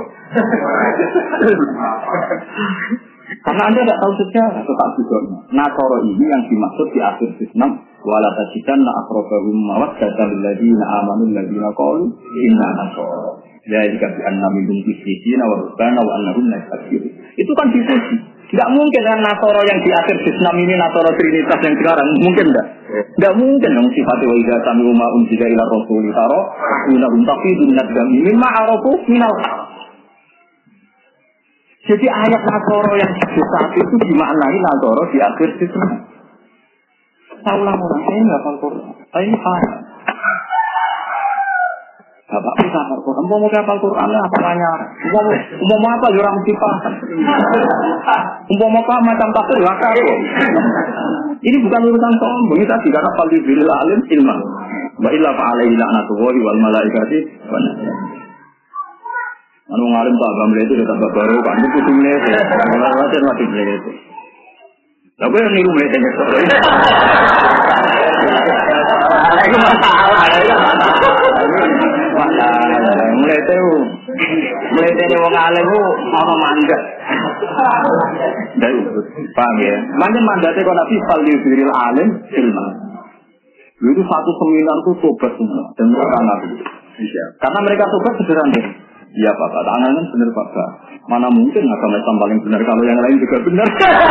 Karena anda tidak tahu sejarah, tetap juga. Nasoro ini yang dimaksud di akhir Islam, wala tajidanna aqrabahum mawaddatan lil ladzina amanu alladziina qalu inna nasara. Jadi kata anna minhum qissina wa rabbana wa annahum la yakfurun. Itu kan diskusi. Tidak mungkin kan Nasoro yang di akhir Islam ini Nasoro Trinitas yang sekarang mungkin enggak? Tidak mungkin dong sifatnya wa idza sami'u ma unzila ila rasuli taro minhum taqidun nadami mimma arafu minal haq. Jadi ayat Nasoro yang saat itu dimaknai Nasoro di akhir Islam. Taulah orang saya nggak hafal Quran. Saya ini paham. Bapak bisa hafal Quran. Mau mau hafal Quran apa tanya? Mau mau apa orang mesti paham. Mau mau apa macam tafsir lakar. Ini bukan urusan sombong ini tadi karena fal bil alim ilman. Wa illa fa alaihi la'natullahi wal malaikati wa nas. Anu ngalim tak gambar itu tetap baru kan itu kudu mlete. Ora wae mati mlete. Tapi yang niru mlete nek to. Iku masalah. Masalah. Mlete u. Mlete ne wong alim ku ana mandat. Dai paham ya. Mandat mandate kok Nabi Sallallahu Alaihi Alim ilmu. Itu satu seminar itu tobat semua dan mereka Nabi. Karena mereka tobat sederhana. Iya Pak, tangan kan benar Pak. Mana mungkin agama Islam paling benar kalau yang lain juga benar.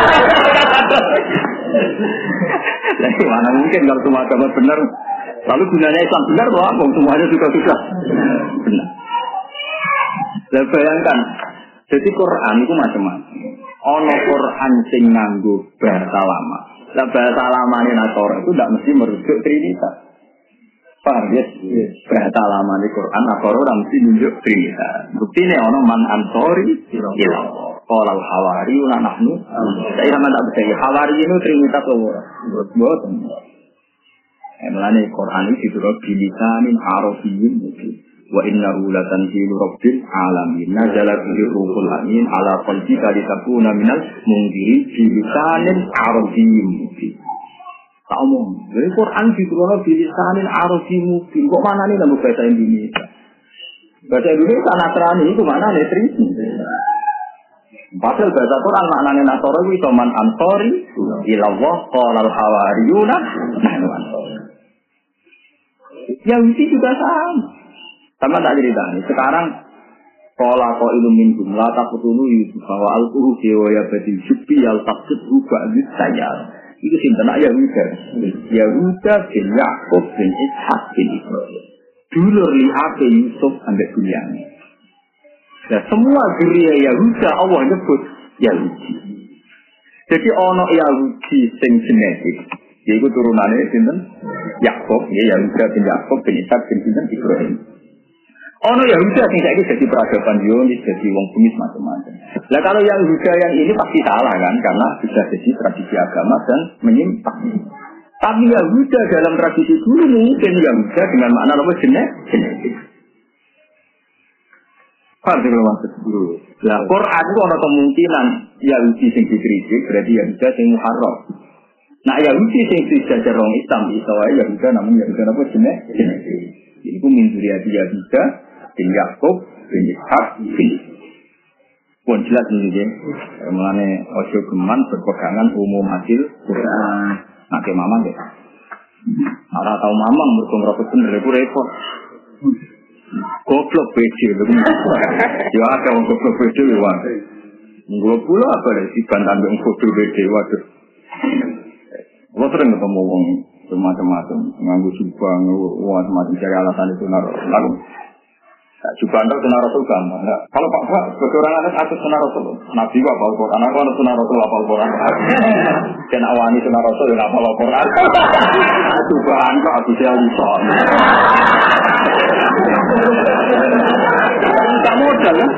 Jadi mana mungkin kalau semua agama benar. Lalu gunanya Islam benar loh, abang semuanya juga sudah benar. Dan bayangkan, jadi Quran itu macam-macam. Ono Quran sing nganggo bahasa lama. Nah bahasa lama ini Nasoro itu tidak mesti merujuk Trinitas. Paham ya? Bahasa lama di Quran Nasoro tidak mesti menunjuk Trinitas. Bukti ini ono man ansori ilah. Qala al hawariyuna nahnu. Saya sama tak percaya hawari itu Trinitas loh. Buat Emlane Quran ini diturut bilisanin arabiyyin mubin. Wa innahu latanzilu rabbil alamin. Nazala bihi ruhul amin ala qalbika litakuna minal munzirin bilisanin arabiyyin mubin. Tak omong. Jadi Quran diturut bilisanin arabiyyin mubin. Kok mana nih dalam bahasa Indonesia? Bahasa Indonesia Nasrani itu mana netri? Padahal bahasa Quran maknanya Nasoro itu man ansori ilallah qala al hawariyuna nahnu ansori. Yahudi juga sama. Sama tak cerita nih. Sekarang pola ko ilumin jumlah tak petulu Yusuf bahwa al-Qur'an ya badi syubi al-taqsid rubah saya. Itu sinten Yahuda. Yahuda bin Yakub bin Ishak bin Ibrahim. Dulur li ape Yusuf sampai Bunyamin. Nah, semua geria Yahuda Allah nyebut Yahudi. Jadi ono Yahudi sing genetik. Yaitu turunannya sinten Yakub, ya Yahuda bin Yakub bin Ishak bin sinten Ibrahim. Oh no Yahuda sing saiki jadi peradaban Zionis, jadi wong bumi macam-macam. Lah kalau yang Yahuda yang ini pasti salah kan karena sudah jadi tradisi agama dan menyimpang. Tapi Yahuda dalam tradisi dulu mungkin Yahuda dengan makna apa jenis? Genetik. Pasti kalau maksud dulu. Lah Quran itu ada kemungkinan Yahudi sing dikritik berarti Yahuda sing muharram. Nah Yahudi sing dijajar orang Islam itu Yahuda namanya Yahuda apa jenis? Genetik. Itu min zuriyati Yahuda bin Yakub bin Ishak bin pun jelas ini ya. Mengenai ojo geman berpegangan umum hasil Quran. Nak mama deh. Ora tau mamang mergo ngrokok bener iku repot. Goblok bece lho. Ya ada wong goblok bece lho. Nggo pula apa lek dibantan wong goblok bece waduh. Wong sering ketemu wong macam-macam nganggo jubah, wah macam cari alasan itu naruh. Lalu jubah itu sunnah Rasul gampang. Kalau Pak Pak sebagai orang atas atas sunnah Rasul, Nabi Pak Al Quran, aku ada sunnah Rasul apa Al Quran. Dan awani sunnah Rasul dan apa Al Quran. Jubah itu aku saya lisan. Tak modal kan?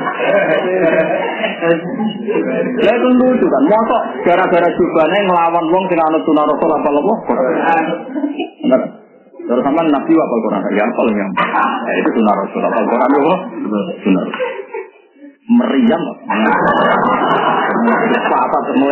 Ya itu lucu kan, mosok gara-gara jubahnya ngelawan wong sing anut sunnah Rasul apa Al Quran. Benar. Terus sama Nabi apa Al-Quran? Ya apa yang ya, itu sunnah Rasul apa Al-Quran itu? Sunnah. Meriam. Apa semua?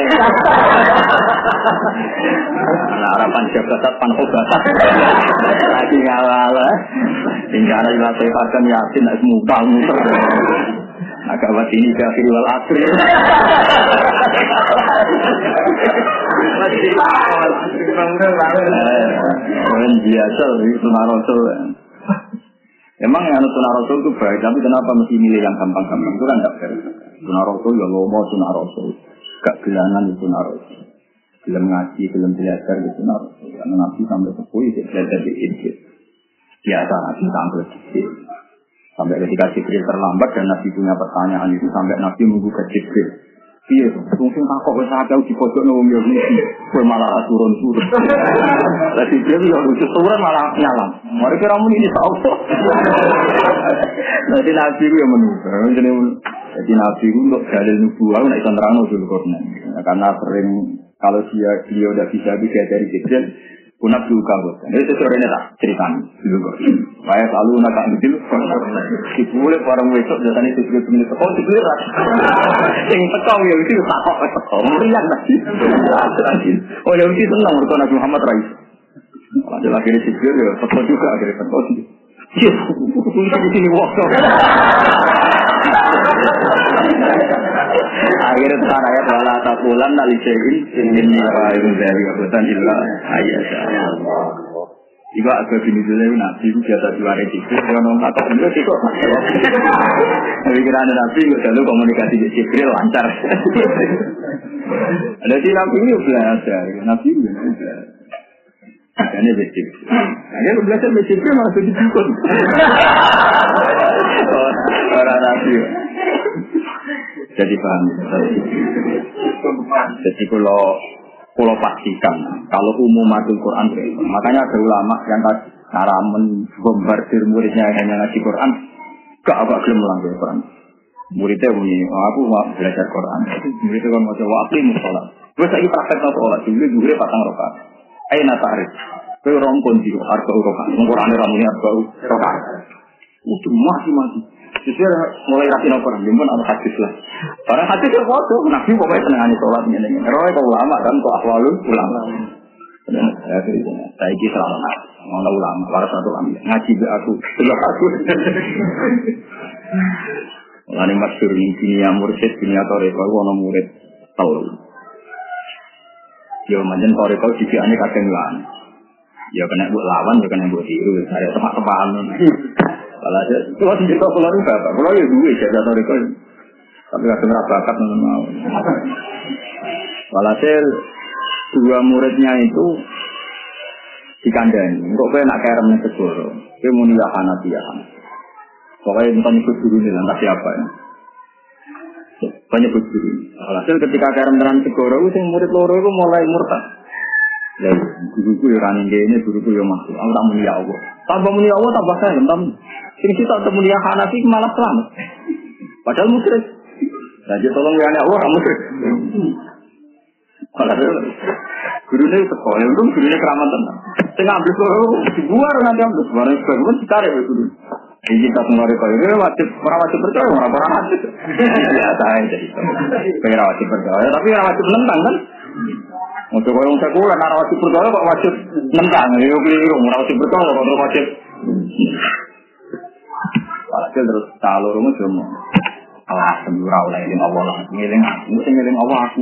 Nah, harapan jabatan pankobatat. Lagi ngawala. Hingga ada yang sehatkan yakin nak mutal-mutal. Agak buat ini kafir wal asri. Masih awal, bangga banget. Orang biasa itu sunnah Rasul. Emang yang sunnah Rasul itu baik, tapi kenapa mesti milih yang gampang-gampang? Itu kan tidak fair. Sunnah Rasul ya lomo sunnah Rasul, gak gelanan itu sunnah Rasul. Belum ngaji, belum belajar itu sunnah Rasul. Karena Nabi sampai sepuluh itu belajar di Injil. Biasa Nabi sampai sedikit. Sampai ketika Jibril terlambat dan Nabi punya pertanyaan itu sampai Nabi menggugah Jibril. Iya, mungkin takut saya jauh di pojok nongol Yahudi, gue malah turun-turun. Lah Jibril yang lucu turun malah nyalam. Mari kira mun ini tahu. Nanti Nabi itu yang menunggu. Jadi Nabi itu untuk dalil nubuah, nak ikan terang dulu korban. Karena sering kalau dia beliau tidak bisa bisa dari Jibril. Punah juga bos. Ini sesuatu ini tak ceritakan dulu kok. Saya selalu nak ambil. Dibuat orang besok jadinya sesuatu pemilik sekolah dibuat. Yang tekau ya itu tak kok tekau. Meriang lagi. Oh ya itu senang berkata Nabi Muhammad Rais. Ada lagi di sini ya tekau juga akhirnya tekau sih. Yes, di sini waktu. Akhirnya sekarang ayat wala taqulan li syai'in inni fa'ilun dzalika bukan illa ayat. Iku agak bini dulu Nabi itu biasa diwaris itu kalau kata beliau itu kok pikiran Nabi itu selalu komunikasi di Jibril lancar. Ada si Nabi itu belajar, Nabi itu belajar. Ini basic. Akhirnya belajar basic itu langsung dibukun. Orang Nabi. Jadi paham. Jadi kalau kalau pastikan kalau umumatul Quran, makanya ada ulama yang cara membombardir muridnya hanya ngaji Quran, gak agak gelem melanggar Quran. Muridnya bunyi, oh, aku mau belajar Quran. Muridnya kan mau coba aku mau sholat. Gue lagi praktek sholat, dulu dulu pasang rokat. Ayo nata arif, gue rompon di arba rokat. Quran ramenya arba rokat. Udah masih masih. Justru mulai rapi Quran, jemput ada hadis lah. Barang hadis itu foto, Nabi pokoknya senangani sholat ini. Roy kau ulama kan, kau akhwalul ulama. Saya cerita, saya ini selama mana ulama, para satu ulama ngaji be aku, sebelah aku. Lalu masyhur ini dunia mursyid, dunia toreko, aku orang murid tahu. Ya macam toreko juga ini kadang lawan. Ya kena buat lawan, ya kena buat tiru. Saya tepat-tepat. Kalau aja, itu masih cerita pulau itu bapak. Pulau ya dua saja toreko. Tapi kadang rabakat nggak mau. Walhasil dua muridnya itu dikandani. Kok saya nak kerem nih segoro. Saya mau nilahan hati-hati. Pokoknya bukan ikut guru nih, entah siapa ya. Banyak ikut guru. Walhasil ketika kerem tenan segoro, saya murid loro itu mulai murtad. Lalu guruku ya running game ini, guruku ya masuk. Aku tak mau ya Allah. Tambah muni Allah tambah saya, tambah. Sing kita ketemu dia Hanafi malah selamat. Padahal musyrik. Jadi tolong ya Allah kamu musyrik. Kalau gurunya sekolah, itu gurunya keramat tenang. Saya ngambil sekolah, dibuar nanti ambil. Barang sebagainya ditarik oleh guru. Ini kita semua rekor, ini wajib, orang wajib percaya, orang orang wajib. Ya, saya jadi. Pengen wajib percaya, tapi orang wajib menentang kan? Untuk orang sekuler, orang wajib percaya kok wajib menentang. Ini keliru, orang wajib percaya kok orang wajib. Walhasil terus kalau rumah cuma alah semurah oleh ngiling Allah lah, ngiling aku, mesti ngiling Allah aku.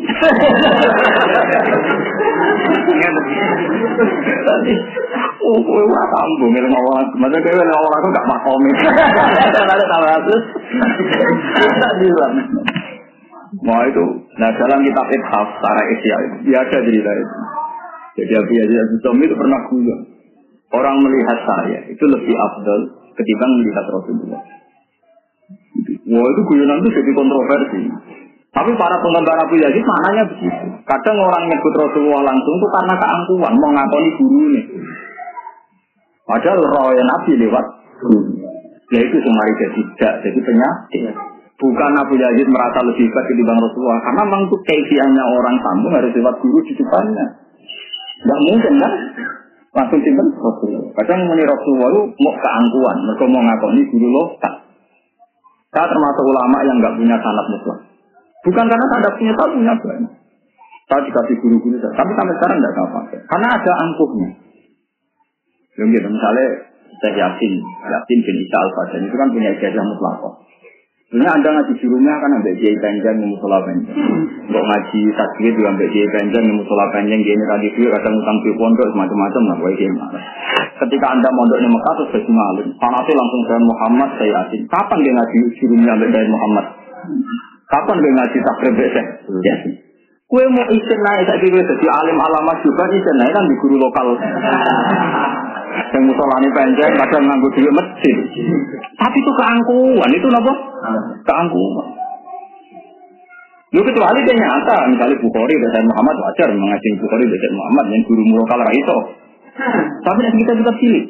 Tadi, oh, kowe ora tambo ngiling Allah aku, maksudnya kowe ngiling Allah aku gak makomi. Ada tahu aku. Tak bilang. Mau itu, nah dalam kitab Ithaf, Tara Isya itu, dia ada cerita itu. Jadi Abu Yazid Al-Bustami itu pernah bilang, orang melihat saya itu lebih afdal ketimbang melihat Rasulullah. Wah itu guyonan itu jadi kontroversi. Tapi para penggemar Abu Yazid maknanya begitu. Kadang orang nyebut Rasulullah langsung itu karena keangkuhan, mau ngakoni guru ini. Padahal roh Nabi lewat guru. Ya itu semari jadi tidak, jadi penyakit. Bukan Abu Yazid merasa lebih hebat ketimbang Rasulullah, karena memang itu keifiannya orang sambung harus lewat guru di depannya. Tidak mungkin kan? Langsung simpen Rasulullah. Kadang menurut Rasulullah itu mau keangkuhan, mereka mau ngakoni guru loh. Saya termasuk ulama yang nggak punya sanad mutlak. Bukan karena saya tidak punya, saya punya banyak. Saya dikasih guru-guru saya, tapi sampai sekarang tidak saya pakai. Karena ada angkuhnya. Gitu, misalnya saya Yasin, Yasin bin Isa Al-Fadhan itu kan punya ijazah mutlak. Sebenarnya Anda ngaji gurunya kan ambil Kiai Panjang di musola Panjang. Untuk ngaji tasbih juga ambil Kiai Panjang di musola Panjang. Dia ini tadi dia kadang utang di pondok semacam-macam lah. Ketika Anda mondok di Mekah terus jadi malam, panasnya langsung dengan Muhammad saya Yasin. Kapan dia ngaji gurunya ambil dari Muhammad? Kapan dia ngaji takrib saya Yasin? Kue mau isin naik saya kira jadi alim alamat juga isin naik kan di guru lokal. Yang musolani panjang kadang nganggo duit masjid. Tapi itu keangkuhan, itu apa? Keangkuhan. Lu kecuali dia nyata, misalnya Bukhari dan Muhammad wajar mengaji Bukhari dan Muhammad yang guru lokal ra iso. Tapi yang kita tetap pilih.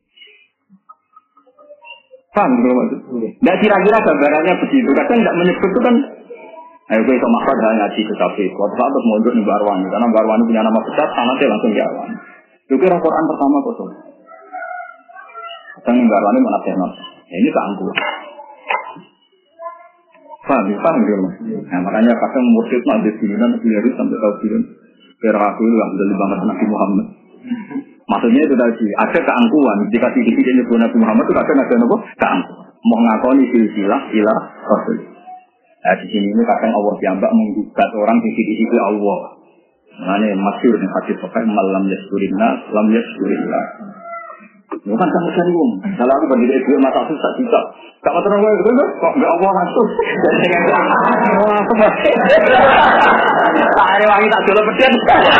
Paham gitu maksud? Nggak kira-kira gambarannya begitu. Kadang nggak menyebut itu kan. Ayo gue sama Ahmad hanya ngaji ke kafe. Waktu saat terus mondok di Barwani, karena Barwani punya nama besar, sanatnya langsung jalan. Itu kira Quran pertama kosong. Kadang di Barwani mana tenar. Ya, ini keangkuhan. Paham, paham gitu mas. Nah makanya kadang mursyid nanti bilan, bilan sampai tahu bilan. Biar aku itu alhamdulillah banget Nabi Muhammad. Maksudnya itu tadi ada keangkuhan. Jika sedikit ini Nabi Muhammad itu kadang ada apa? Keangkuhan. Mau ngakoni silsilah ilah Rasul. Nah di sini ini kadang Allah diambak menggugat orang di sisi-sisi Allah. Makanya masyhur nih hadis pakai malam yaskurinna, lam yaskurillah. Bukan kamu cari uang. Kalau aku bagi duit mata susah juga. Kamu tenang gue gitu kok nggak Allah langsung. Dan dengan wah aku masih. Tak ada wangi tak jual peden.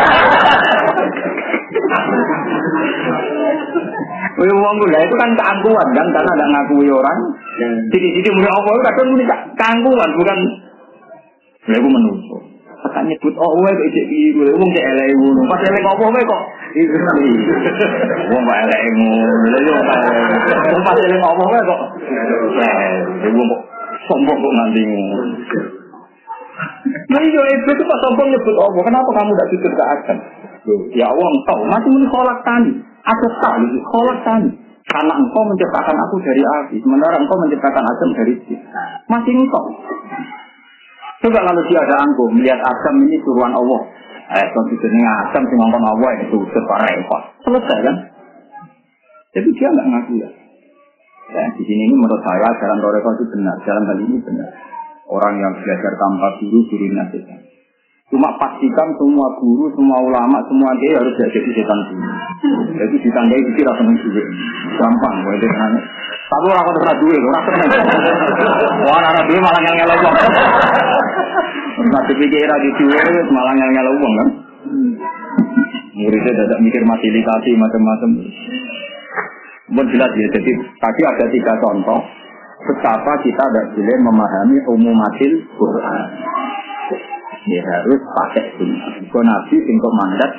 Wih uang gue itu kan keangkuhan kan karena ada ngakui orang. Jadi-jadi mulai Allah itu kadang mulai keangkuhan bukan. Ya aku menunggu. Akan nyebut Allah kok ijek iki wong cek elek ngono. Pas elek opo wae kok. Wong kok elek ngono. Lha yo kok pas elek opo wae kok. Eh, wong kok sombong kok nanti ngono. Nah yo itu pas sombong nyebut Allah. Kenapa kamu enggak jujur ke akan? Ya Allah engkau masih muni kholak tani. Aku tak lagi kholak tani. Karena engkau menciptakan aku dari api, sementara engkau menciptakan Adam dari jin. Masih engkau. Coba kalau dia ada angkuh, melihat Adam ini suruhan Allah. Eh, konstitusinya Adam si ngomong Allah itu separah repot. Selesai kan? Jadi dia nggak ngaku ya. Ya, di sini ini menurut saya jalan Toreko itu benar, jalan hal ini benar. Orang yang belajar tanpa guru, guru nasihat. Cuma pastikan semua guru, semua ulama, semua dia harus jadi setan dulu. Jadi ditandai itu tidak senang juga. Gampang, boleh nanya. Tapi orang kau terus duit, orang senang. Wah, anak duit malah ngel-ngel uang. Masih pikir lagi duit, malah ngel-ngel uang kan? Muridnya tidak mikir fasilitasi macam-macam. Bukan jelas ya. Jadi tadi ada tiga contoh betapa kita tidak boleh memahami umumatil Quran. Ya harus pakai sunnah. Kalau Nabi singkok mandat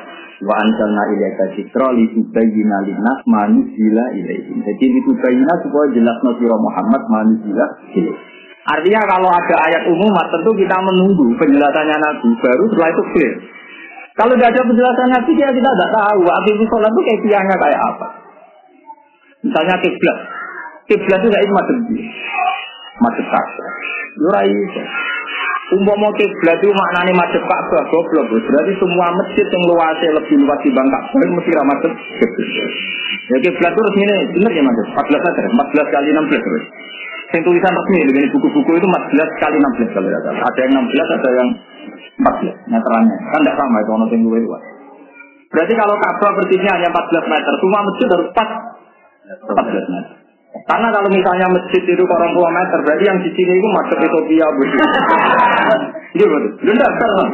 Wa anzalna ilaika dzikra litubayyana lin-nas ma nuzila ilaihim. Jadi litubayyana supaya jelasno sira Muhammad ma nuzila ilaihim. Artinya kalau ada ayat umum tentu kita menunggu penjelasannya Nabi baru setelah itu clear. Kalau tidak ada penjelasan Nabi ya kita tidak tahu akhir sholat itu kaifiahnya kayak apa. Misalnya kiblat. Kiblat itu enggak madhep madhep Ka'bah. Ora iso. Umpama kiblat itu maknane madhep Ka'bah goblok. Berarti semua masjid yang luasnya lebih luas dibanding Ka'bah mesti ra madhep kiblat. Ya kiblat itu resmine bener ya Mas. empat belas meter, empat belas kali enam belas terus. Yang tulisan resmi dengan buku-buku itu empat belas kali enam belas kalau tidak salah. Ada yang enam belas, ada yang empat belas meterannya. Kan tidak sama itu ono sing luwih luas. Berarti kalau Ka'bah persisnya hanya empat belas meter, semua masjid harus empat belas meter. Karena kalau misalnya masjid itu orang dua meter, berarti yang di sini itu masuk Ethiopia begitu. Iya betul. Tidak salah.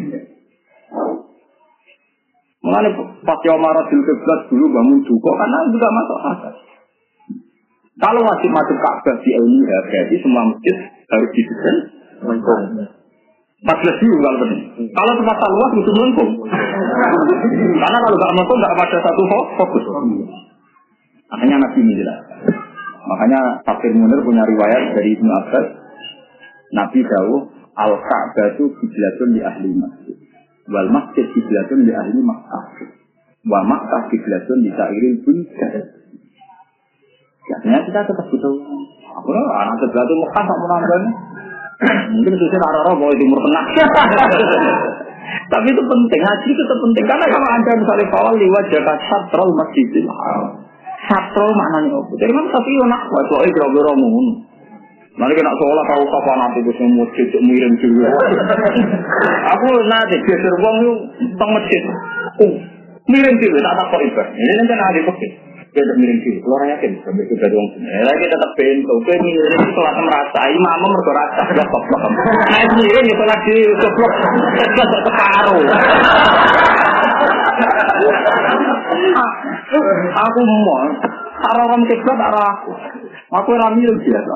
Mengenai pas Umar bin Khattab dulu bangun juga karena juga masuk akal. Kalau wajib masuk Ka'bah di Al-Mira, berarti semua masjid harus didesain melengkung. empat belas dulu kalau benar. Kalau tempat luas itu melengkung. Karena kalau nggak melengkung nggak pada satu fokus. Makanya Nabi Milah. Makanya Tafsir Munir punya riwayat dari Ibnu Abbas. Nabi dawuh Al-Ka'bah itu kiblatun li ahli masjid. Wal masjid kiblatun li ahli Makkah. Wa Makkah kiblatun li sairil buldan. Biasanya kita tetap butuh. Aku lah anak sebelah itu Mekah tak menambahnya. Mungkin susah arah-arah bahwa timur tengah. Tapi itu penting, haji itu penting. Karena kalau anda misalnya kawal liwat jaga satrol masjidil haram. Satrol maknanya apa? Jadi kan tapi nak buat soal kira-kira mohon. Nanti kena seolah tahu kapan nanti bisa masjid miring juga. Aku nanti geser uang itu tentang masjid. Uh, miring juga tak tak korban. Ini nanti ada masjid. Dia tidak miring diri, keluar yakin sampai itu dari orang sini. Lagi tetap bento, kau miring itu sholat merasa, imam merasa, sudah koplok. Naik miring itu lagi koplok, sudah terparuh. Aku mau, arah orang kiblat arah aku, aku orang miring biasa.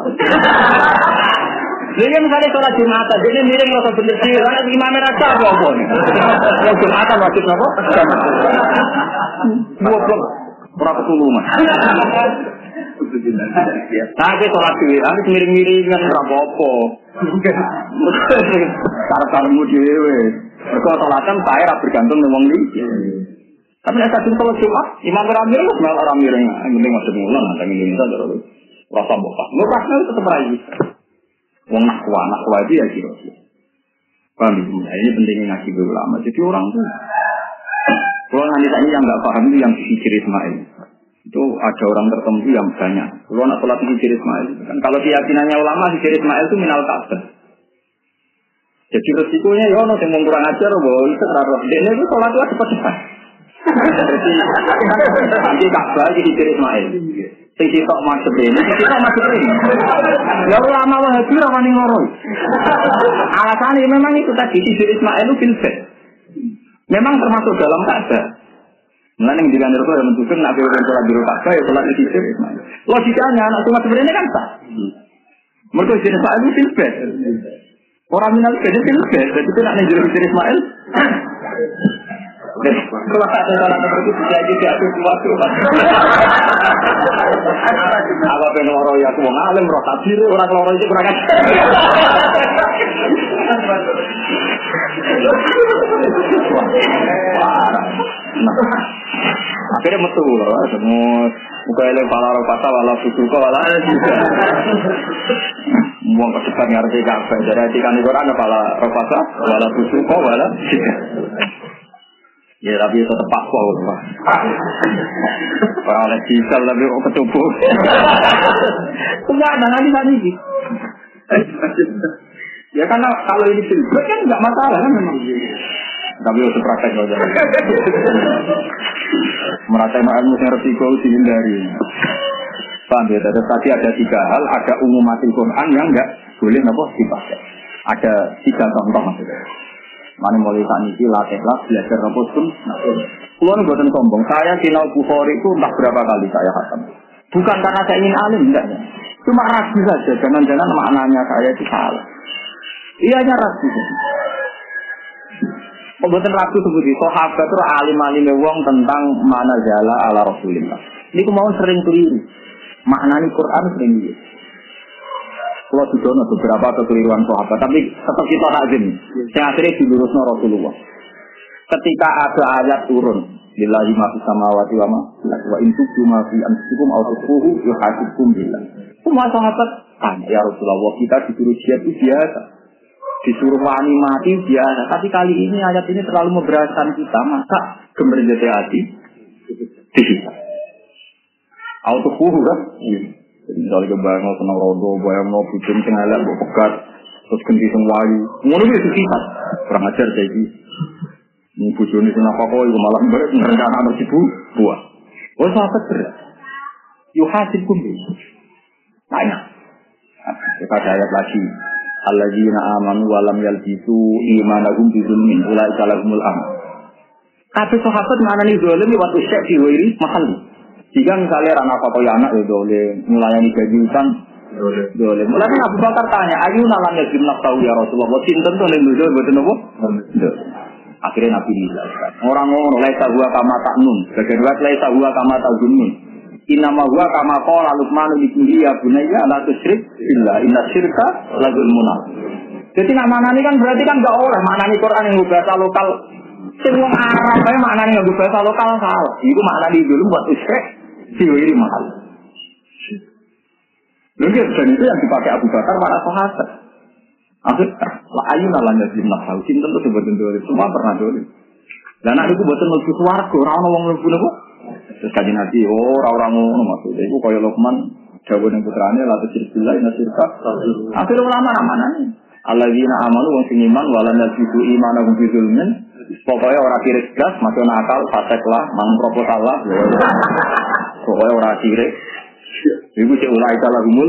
Jadi misalnya sholat Jumatan, jadi miring rasa bener sih, karena imamnya rasa apa-apa nih. Kalau Jumatan wajib apa? Dua blok. Ora ketulungan. Nah, kita sholat dhewe, aku miring-miringan ora apa-apa. Karep-karepmu dhewe. Mergo salatan sae ora bergantung nang wong iki. Tapi nek kadung sholat Jumat, imam ora miring, wis ora miring. Penting masuk mulan, nang Indonesia terus. Rasa mbokah. Mbokahnya tetep ra iki. Wong nak kuat, nak kuat dia kira. Paham ya? Ini pentingnya ngaji ulama. Jadi orang tuh kalau nanti tadi yang nggak paham itu yang hijir Ismail itu ada orang tertentu yang banyak. Kalau nak sholat hijir Ismail kan kalau keyakinannya ulama hijir Ismail itu minal Ka'bah. Jadi resikonya ya orang yang kurang ajar bahwa itu terlalu. Dia itu sholat itu cepat-cepat. Jadi nanti Ka'bah hijir Ismail. Sing sitok masuk ini, sing sitok masuk ini. Ya ulama Wahabi ora wani ngoro. Alasannya memang itu tadi hijir Ismail itu filsafat. Memang termasuk dalam Ka'bah. Mulane yang dikantor itu yang menunjukkan nak berulang sholat di Ka'bah ya sholat di situ. Logikanya anak cuma sebenarnya kan sah. Mereka jenis Ismail itu filbet. Orang minal jadi filbet. Jadi itu nak menjadi jenis Ismail. Kalau tak ada sholat seperti itu jadi diatur sesuatu. Apa pengen orang yang mau ngalim roh takbir orang loro itu kurang ajar. Akhirnya metu loh, semua buka eleng palar pasal wala susuka wala juga. Mau kesepan ngerti kafe, jadi hati kan itu orang pala pasal wala susuka wala juga. Ya tapi itu tetap pakwa lah. Orang oleh diesel lebih ketubuh. Enggak ada nanti nanti. Ya karena kalau ini filbet kan nggak masalah kan memang. Tapi harus praktek saja. Merasa ilmu yang resiko dihindari. Paham ya? Tadi ada tiga hal, ada umumatil Quran yang nggak boleh apa dipakai. Ada tiga contoh maksudnya. Mana mulai saat ini latihlah belajar apa pun. Kalau nih buatan sombong, saya sinau Bukhari itu entah berapa kali saya khatam. Bukan karena saya ingin alim, enggak ya. Cuma ragu saja, jangan-jangan maknanya saya itu salah. Iya nya ragu. Pembuatan ragu seperti sahabat itu alim-alim wong tentang mana jala ala Rasulillah. Ini mau sering keliru. Maknani Quran sering dia. Kalau sudah ada beberapa kekeliruan sahabat, tapi tetap kita lazim. Yang akhirnya dilurusnya Rasulullah. Ketika ada ayat turun, lillahi ma fis samawati wa ma wa in tubdu ma fi anfusikum aw tukhfuhu yuhasibkum billah. Semua sahabat tanya, ya Rasulullah, kita disuruh jihad itu biasa. Disuruh wani mati biasa. Tapi kali ini ayat ini terlalu memberatkan kita, maka gemerjati hati dihisab. Aw tukhfuhu kan? Misalnya kebayang senang rodo, bayang no bucin sengalah, pegat, terus ganti sengwayu. Ngono itu kita kurang ajar kayak gitu. Ini bucin ini senang apa kok? Malah merencana anak ibu buah. Oh sahabat berat. Yuhasibkum billah. Tanya. Kita ada ayat lagi. Alladzina amanu wa lam yalbisu imanahum bizulmin ulaika lahumul amn. Kata sahabat mana nih zalim waktu syekh di wiri mahal. Jika misalnya anak apa kaya anak ya boleh melayani gaji utang boleh. Mulai kan Abu Bakar tanya, ayu nalan ya gimnak tahu ya Rasulullah. Sinten tuh yang dulu betul nopo. Akhirnya Nabi dijelaskan. Orang ngomong laisa huwa kama ta'nun. Bagian dua laisa huwa kama ta'zunun. Inama huwa kama qala Luqman li ya bunayya la tusyrik billah inna syirka la zulmun. Jadi nama-nama ini kan berarti kan enggak oleh maknani Quran yang bahasa lokal. Sing wong Arab ae maknane nggo bahasa lokal salah. Iku maknane dulu buat usyrik diwiri mahal. Lalu dan itu yang dipakai Abu Bakar para sahabat. Akhirnya, la ayuna lan yazlim nafsu. Cinta itu sebetulnya dulu. Semua pernah dulu. Dan anak itu buatan lebih suarga. Orang-orang yang lebih dulu. Terus kaji nanti, oh orang-orang ngono maksudnya. Itu kaya Luqman, jawab dengan putranya, la tusyribillah inna syirka. Akhirnya ulama namanya. Alladzina amanu wa siniman wa lam yalbisu imanahum bizulmin. Pokoknya orang kirik gas, masuk nakal, fasek lah, mang proposal lah. Pokoknya orang kirik. Ibu cek ulai salah umul.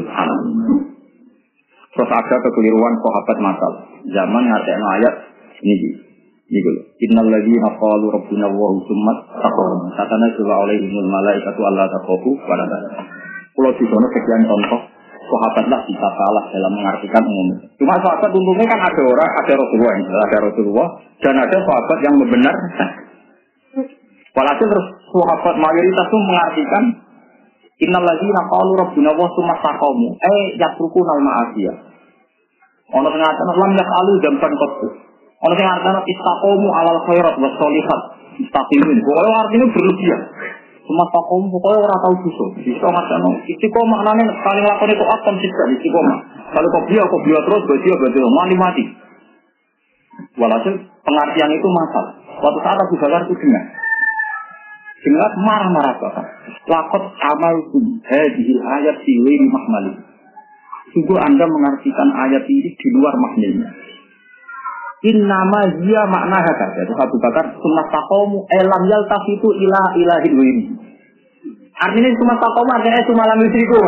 Terus ada kekeliruan sahabat masal. Zaman ngertiin ayat ini. Ini dulu. Innal ladzina qalu rabbuna Allahu tsumma taqaw. Tatanazzalu alaihimul malaikatu alla taqafu wa la tahzanu. Kalau di sana sekian contoh sahabatlah bisa salah dalam mengartikan umum. Cuma sahabat untungnya kan ada orang, ada Rasulullah, ada Rasulullah dan ada sahabat yang membenarkan. Walhasil terus sahabat mayoritas itu mengartikan innal ladzina qalu rabbuna Allahu tsumma taqaw. Eh yatrukuna al-ma'asiyah. Ono sing ngaten lam yaqalu jamban qattu. Ono sing ngaten istaqamu alal khairat was sholihat. Istaqimin. Pokoke artinya berlebihan. Cuma takom pokoknya orang tahu dosa. Bisa macam istiqomah maknanya paling lakon itu apa sih istiqomah. Kalau kau biar kau biar terus berarti berarti mati mati. Walhasil pengertian itu masalah. Suatu saat Abu Bakar itu dengar, dengar marah-marah bapak. Lakot amal kum hadhil ayat siwiri mahmali. Sungguh anda mengartikan ayat ini di luar maknanya. Innama dia makna hakar. Itu Abu Bakar sunnah taqomu elam yaltafitu ila ilahil wini. Artinya sunnah taqomu artinya cuma lam yusriku.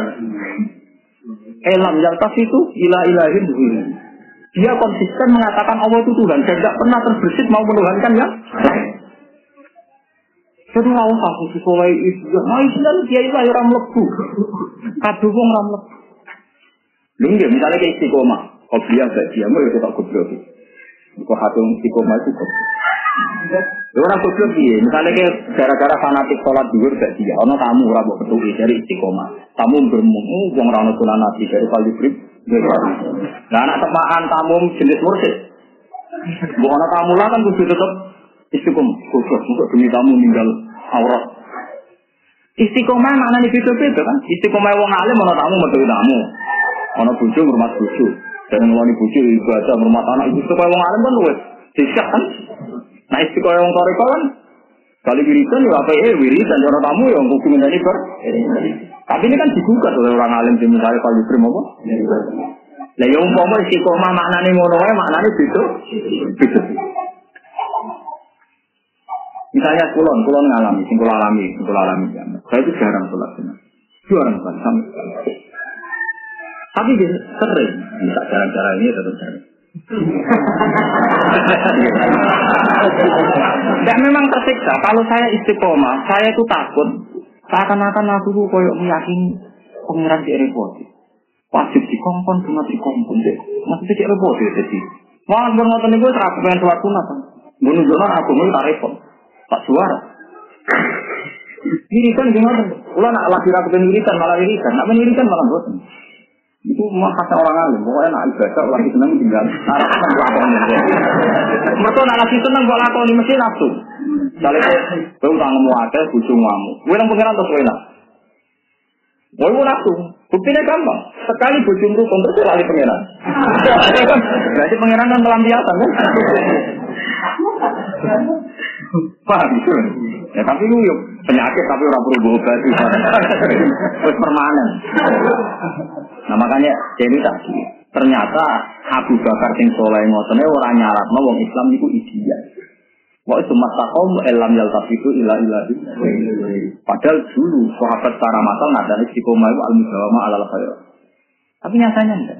Elam yaltafitu ila ilahil wini. Dia konsisten mengatakan Allah itu Tuhan dan tidak pernah terbersit mau menuhankan yang lain. Jadi nggak usah sesuai itu. Nah Islam dia itu orang lebu. Kadung orang lebu. Lungge misalnya kayak istiqomah. Kau biar saya diam ya kita goblok. Kau hatung istiqomah itu kok. Orang goblok dia. Misalnya kayak gara-gara fanatik sholat zuhur gak dia. Ono tamu ora mbok petuki dari istiqomah. Tamu bermung, wong ora ono sunan nabi dari kalibrib. Nah anak temaan tamu jenis mursyid. Mbok ono tamu lah kan kudu tetep istiqomah. Goblok untuk demi tamu ninggal aurat. Istiqomah maknane beda-beda kan. Istiqomah wong alim ono tamu metu tamu. Ono bojo ngurmat bojo. Dan ngeloni bojo ibadah ngurmat anak itu supaya wong alim kan luwes. Disak kan. Nah istiqomah wong toreko kan kali wiridan ya apa eh wiridan orang tamu yang kudu ngenteni ber. Tapi ini kan digugat oleh orang alim di misalnya kalau diberi apa? Lah ya umpama istiqomah maknane ngono wae maknane beda. Beda. Misalnya kulon, kulon ngalami, sing kula alami, sing kula alami. Saya itu jarang sholat sunat. Jarang kan sama sekali. Tapi dia sering, bisa cara-cara ini tetap sering. Dan memang tersiksa. Kalau saya istiqomah, saya itu takut. Seakan-akan aku tuh koyok meyakini pengiran di repot. Wajib dikongkon, cuma dikongkon deh. Maksudnya di repot ya jadi. Wah, bermotor ini gue terakhir pengen sholat sunat. Menunjukkan aku mau tak repot. Tak suara. Irisan gimana? Ulah nak lagi rakyat irisan malah irisan. Nak menirisan malah bosan. Itu mah kata orang alim. Pokoknya nak ibadah lagi senang tinggal. Narakan lakoni. Mereka nak lagi senang buat lakoni mesti nafsu. Misalnya kau utangmu ada, bujumamu. Kau yang pengiran terus enak. Kau nafsu. Buktinya gampang. Sekali bujum rukun terus lari pengiran. Berarti pengiran kan pelampiasan kan? Paham itu? Ya tapi lu yuk penyakit tapi orang perlu obat itu. Terus permanen. Nah makanya jadi tadi ternyata Abu Bakar sing soleh ngotone ora nyaratno wong Islam niku ideal. Wa itu masaqom elam yaltafitu ila ilahi. Padahal dulu sahabat secara masal nadane istiqomah itu al-mudawamah alal khair. Tapi nyatanya enggak.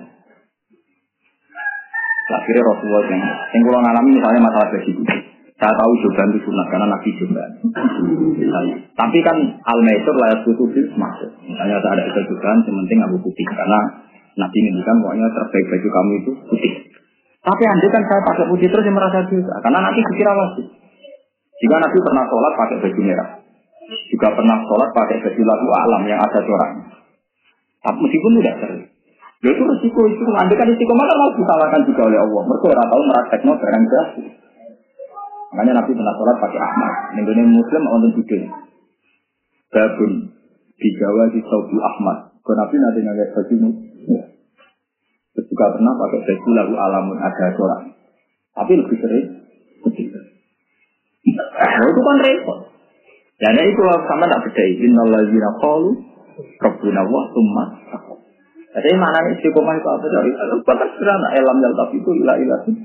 Akhirnya Rasulullah yang yang kalau ngalami misalnya masalah bagi saya tahu joban itu sunnah karena Nabi joban. Tapi kan al-maisur layak tutup masuk. Misalnya ada ada joban, sementing abu putih karena Nabi ngendikan pokoknya terbaik baju kamu itu putih. Tapi andai kan saya pakai putih terus yang merasa dosa karena nanti dikira wajib. Jika Nabi pernah sholat pakai baju merah, juga pernah sholat pakai baju lagu alam yang ada coraknya. Tapi meskipun tidak sering. Ya itu resiko itu. Andai kan resiko maka mau disalahkan juga oleh Allah. Mereka orang tahu merakteknya barang jahil. Makanya Nabi pernah sholat pakai Ahmad. Nenggone Muslim untuk tidur. Babun digawa di Saudi Ahmad. Kalau Nabi nanti ngajar baju ya. Terus juga pernah pakai baju lagu alamun ada corak. Tapi lebih sering putih. Nah itu kan repot. Dan itu sama tak beda. Innalladzina qalu rabbuna wa tsumma taqwa. Jadi maknanya istiqomah itu apa? Bahkan sederhana elam yaltaf itu ilah ilah itu.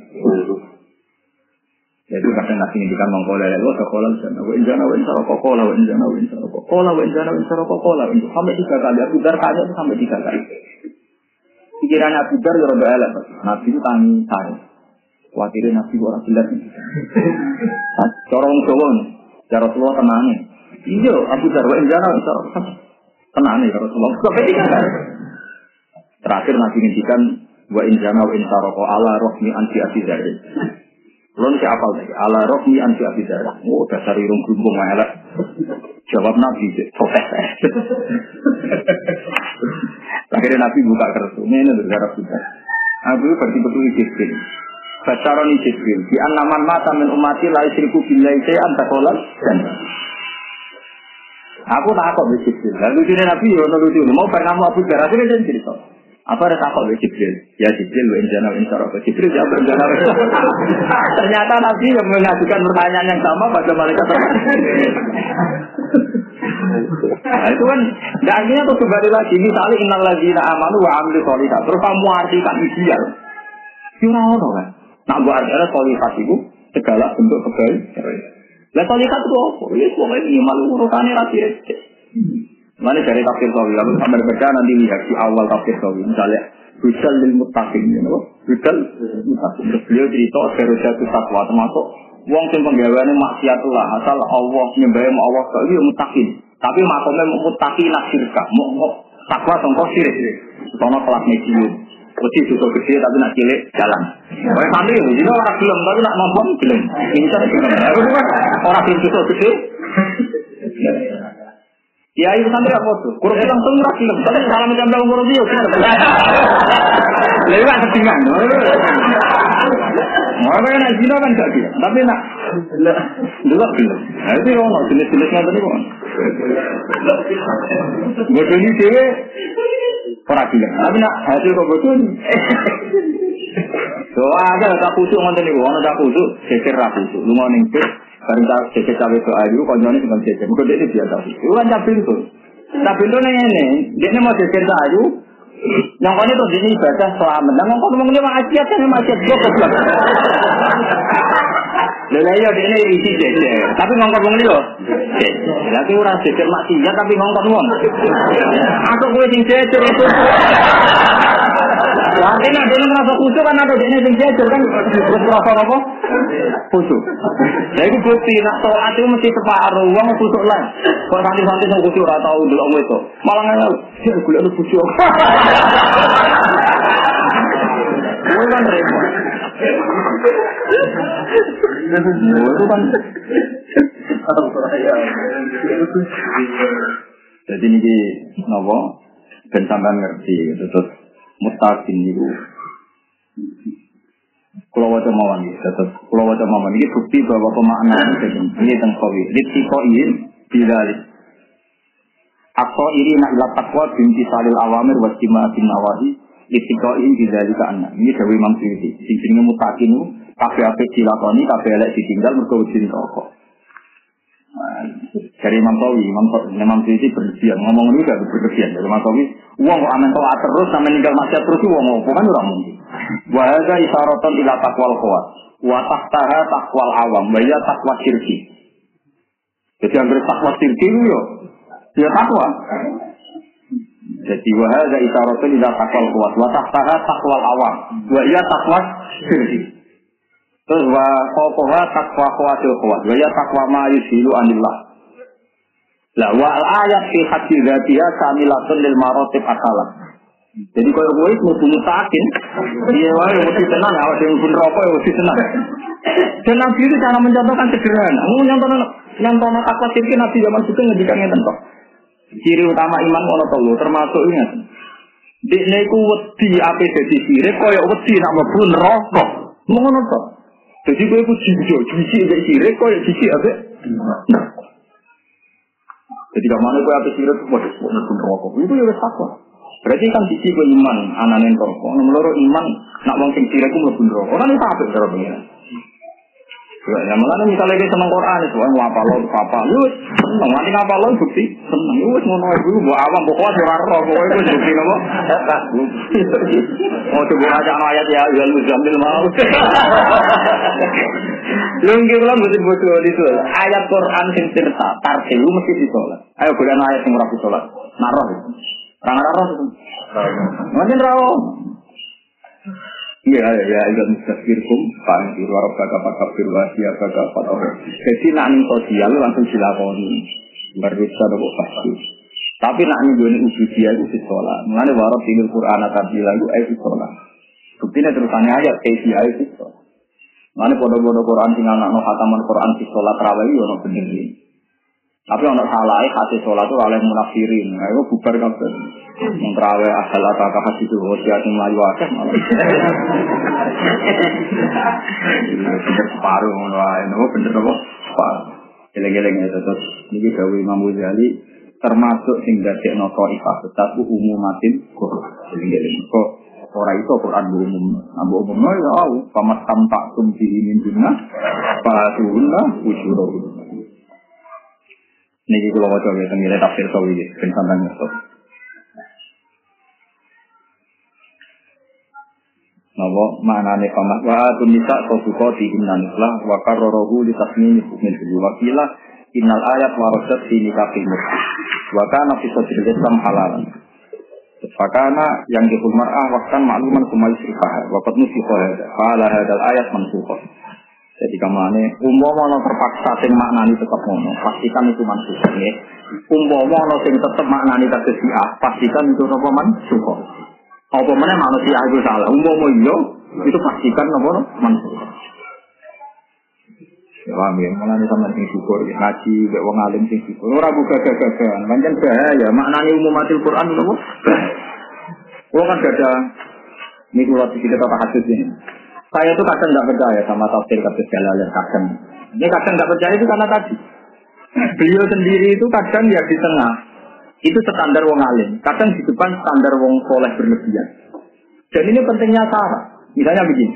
Jadi kadang Nabi ngendikan mengkola ya Allah sekolah sana wa injana wa insara kokola wa injana wa insara kokola wa injana wa insara kokola sampai tiga kali. Abu Dar tanya itu sampai tiga kali. Pikiran Abu Dar ya rada elek. Nabi itu tangi saya. Khawatirnya Nabi orang jelas. Corong Jawa ya Rasulullah tenangnya. Iya Abu Dar wa injana wa insara tenangnya ya Rasulullah. Sampai tiga kali. Terakhir Nabi ngendikan wa injana wa insara ko ala rohmi anti asizari. Belum siapa lagi ala rohmi anti asizari. Oh dasar irung gumbung elek. Jawab Nabi protes. Akhirnya Nabi buka kertas. Ini negara kita. Abu betul-betul Jibril. Bacaroni Jibril. Di anaman mata min umati la isyriku billahi syai'an taqolan dan aku tak kok Jibril. Lalu dia Nabi yo lucu. Mau berkamu Abu Dar akhirnya dia cerita. Apa ada takut oleh Jibril? Ya Jibril, wa injana wa insara. Jibril jawab injana wa insara. Ternyata Nabi yang mengajukan pertanyaan yang sama pada malaikat. Nah itu kan, dan akhirnya tuh kembali lagi. Misalnya innal ladzina amanu wa amilu sholihat. Terus kamu artikan ideal. Kira orang kan? Nah buat artinya sholihat itu segala bentuk kebaikan. Lah sholihat itu apa? Ya semua ini iman urutannya rakyat. Mana dari tafsir Sawi, lalu sampai baca nanti lihat di awal tafsir Sawi. Misalnya, Hudal lil Muttaqin, you know? Hudal lil Muttaqin. Terus beliau cerita Darujatu Taqwa, termasuk wong sing penggaweane maksiatullah, asal Allah nyembah Allah kok iki muttaqin. Tapi makome muttaqin nasirka, mau takwa sangko sirik. Sono kelas medium. Wedi dosa gede tapi nak cilik jalan. Kowe santri lho, dino ora gelem tapi nak mampu gelem. Pinter gelem. Ora gelem dosa gede. Ya itu santri apa tuh? Kurang langsung ora gelem, tapi salam jambal umur dia. Lewat ketingan. Mau nak zina kan gak dia, tapi nak dulu gelem. Nah itu ono jenis-jenisnya tadi kok. Bodoh ni dewe ora gelem. Tapi nak hasil kok bodoh ni. So ada tak kusuk ngoten niku, ono tak kusuk, geger ra kusuk. Lunga ning pit, bareng tak geger cawe to ayu, konjone sing geger. Mugo dene biasa. Iku kan cap pintu. Cap pintu ngene, dene mau geger ta ayu. Yang kone to dene ibadah selamat. Lah ngomong ngomong ne maksiat kan maksiat goblok. Lha iya dene isi jejer, tapi ngomong ngene lho. Lah ki ora geger maksiat tapi ngomong wong. Aku kowe sing jejer itu. Nanti nak dia merasa khusyuk kan ada dia yang jajar kan terus merasa apa? Khusyuk. Jadi bukti nak sholat itu mesti separuh uang khusyuk lah. Kalau santai-santai yang khusyuk rata tahu dulu itu malah nggak dia gula lu khusyuk. Itu kan repot. Itu kan. Jadi ini nopo ben sampean ngerti gitu terus mustaqim niku. Kalau wajah mawon iki tetep kalau wajah mawon iki bukti bahwa pemaknaan ini tentang qawi. Litqoin bilal. Atau iri nak ila taqwa binti salil awamir wa timaatin nawahi litqoin bidzalika anna. Ini dewe Imam Suyuti. Sing jenenge mustaqim kabeh ape dilakoni kabeh elek ditinggal mergo wedi rokok. Dari Imam Tawi, Imam Imam Suyuti berlebihan ngomong ini gak berlebihan. Dari Imam Tawi, uang kok aman taat terus sampai ninggal maksiat terus uang apa kan ora mungkin. Wa hadza isyaratun ila taqwal khawat wa tahtaha taqwal awam wa ya taqwa syirki. Jadi yang takwa syirki itu yo ya takwa. Jadi wa hadza isyaratun ila taqwal khawat wa tahtaha taqwal awam wa ya taqwa syirki. Terus wa qawqaha taqwa khawatil khawat wa ya taqwa ma yusilu anillah. La wa al-ayat fi hadzi dzatiha kamilatun lil maratib asalah. Jadi kalau gue itu mesti mutakin, dia wae mesti tenang, awak yang pun rokok ya mesti tenang. Dan Nabi itu cara mencontohkan sederhana. Mau nyontohkan nyontohkan takwa sirki Nabi zaman itu ngedikannya tentu. Ciri utama iman ono telu termasuk ingat. Dene iku wedi ape dadi sirik koyo wedi nak mlebu neraka. Ngono to. Jadi kowe iku jijo, jiji mek sirik koyo jiji ape. Jadi kamane kowe ape sirik kok mlebu neraka. Itu ya wis takwa. Berarti kan sisi ke iman, ananen rokok. Nomor iman, nak wong sing sirik ku mlebu neraka. Ora nek apa cara pengen. Ya malah misalnya dia seneng Quran itu, mau apa lo, apa lu, seneng. Nanti apa lo bukti, seneng. Lu ngono iku mbok awam pokoknya ora ora kowe iku bukti napa? Mau coba aja ayat ya al muzammil mau. Lu nggih kula mesti bodoh itu. Ayat Quran sing cerita tartil mesti disolat. Ayo golek ayat sing ora disolat. Naroh. Rang-rang itu. Mungkin rawo. Iya, ya, itu mustaqirkum, panggil warab kakak pakak firwasiya kakak pakak. Jadi nak ning sosial langsung dilakoni. Berusaha untuk pasti. Tapi nak ning gone ubudiyah itu disolat. Mengenai warab tinggal Quran atau bilang itu ayat disolat. Buktinya terusannya ayat kayak ayat disolat. Mengenai bodoh-bodoh Quran tinggal nak no khataman Quan disolat rawi ono bener ini. Tapi ono salah hati sholat itu oleh munafirin. Ayo bubar kabeh. Yang terawih asal ataka hati itu hosiat yang melayu akeh malah. Bener separuh ngono ae. Nopo bener nopo? Separuh. Geleng-geleng ya terus niki dawuh Imam Ghazali termasuk sing dadekno taifah tetap umumatin Quran. Geleng-geleng kok ora iso Quran umum. Ambo umum ya au pamastam tak tumpi min dunya fatuhunna ujurahum. Niki kula waca ya tengene tafsir sawi iki ben sampeyan ngerti. Napa maknane pamak wa tunisa sofukoti innanislah wa karrahu li tasmini min wakila innal ayat waradat fi nikahil murtad wa kana fi sadril islam halalan. Fakana yang dihul mar'ah waqtan ma'luman kumai sifah wa qad nusikha hada qala hadal ayat mansukh. Jadi kamane umpama ana terpaksa sing maknani tetep ngono, pastikan itu mansukh nggih. Umpama ana sing tetep maknani tegese siah, pastikan itu apa mansukh. Apa meneh manusia itu salah. Umpama iya, itu pastikan apa mansukh. Ya paham ya, mulane sampeyan sing syukur ngaji mek wong alim sing syukur. Ora buka gagagan, pancen bahaya maknani umumatil Quran napa? Wong kan ada niku lho kita tak hadis ini. Saya itu kadang tidak percaya sama tafsir kata Jalalain kadang. Ini kadang tidak percaya itu karena tadi beliau sendiri itu kadang ya di tengah itu standar wong alim, kadang di depan standar wong soleh berlebihan. Dan ini pentingnya cara. Misalnya begini.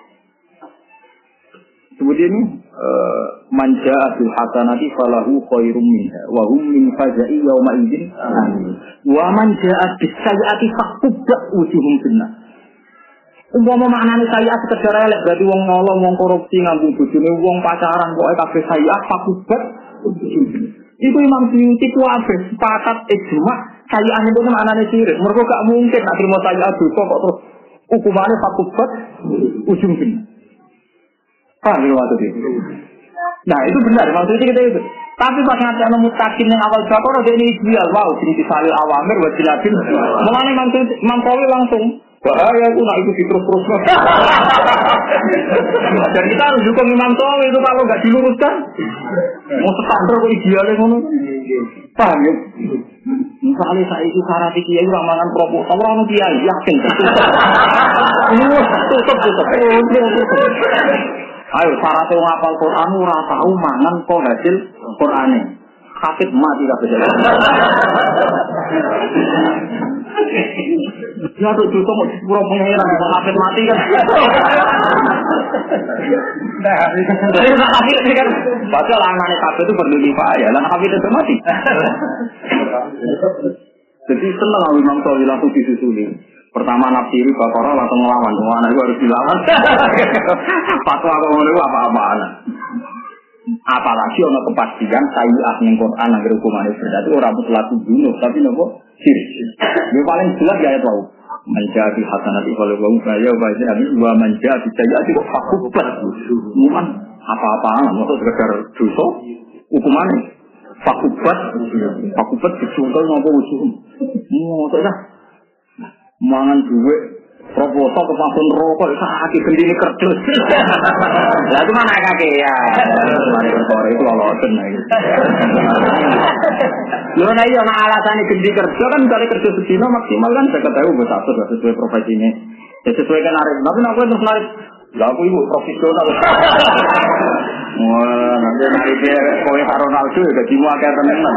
Kemudian ini uh, manja abil hasanati falahu khairum minha wa hum min fazai yauma idzin amin. Wa manja abis sayyiati faqubba wujuhum finnar. Umpama maknane sayyiat sekedar elek berarti wong nolong, wong korupsi nganggo bojone wong pacaran pokoke kabeh sayyiat faqubba. Iku Imam Suyuti kuwabe sepakat ijma sayyiat itu maknane sirik. Mergo gak mungkin nek trimo sayyiat dosa kok terus hukumane faqubba ujung finnar. Paham ya waktu itu? Nah itu benar, maksudnya kita itu. Tapi pas nanti ada mutakin yang awal Baqarah dia ini ideal, wow, jadi disalil awamir, wajilatin. Mengenai Imam Qawi langsung bahaya itu, nak itu terus terus. Dan kita harus dukung Imam Syafi'i itu kalau nggak diluruskan, mau standar kok idealnya ngono. Paham ya? Misalnya saya itu syarat kiai ramalan proposal orang kiai yakin. Tutup tutup. Ayo syaratnya ngapal Quran ora tahu mangan kok hasil Qurane. Hafid mati kabeh. Ya tuh tuh mau pura pengeran bisa hafid mati kan. Nah, itu hafid kan. Padahal anane kabeh itu berdua ya, lan hafid itu mati. Jadi senang kalau Imam Syafi'i langsung disusuli. Pertama nafsiri Baqarah langsung ngelawan. Wah, anak itu harus dilawan. Fatwa kalau itu apa-apaan. Apalagi ono kepastian sayyid ning Quran nang hukumane berarti ora mutlak bunuh tapi nopo syirik. Yo paling jelas ya itu. Menjadi hasanati kalau wong kaya wae abi wa menjadi sayyid itu fakubat. Muman apa-apaan maksud sekedar dosa hukumane fakubat fakubat dicontoh nopo usul. Ngono ta. Mangan duit proposal kepakun rokok sakit gendini kerdus. Lah itu mana kakek ya? Mari berkore itu lolosen lagi. Lho nek yo ana alasane gendhi kerja kan misalnya kerja sedina maksimal kan saya ketahui buat satu sesuai profesi ini. Ya sesuai kan arep. Tapi nek terus narik lah aku ibu profesional. Wah, nanti nariknya kowe karo Ronaldo ya dadi mu akeh tenan.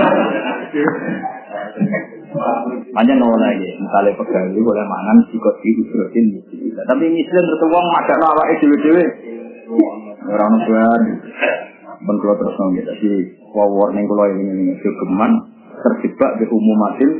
Hanya nol lagi, misalnya pegawai boleh mangan sikot di usurin bisa. Tapi misalnya terus uang macam apa itu dewe, orang tuan bentuk terus nong gitu. Jadi warning kalau ini ini kegeman terjebak di umumatil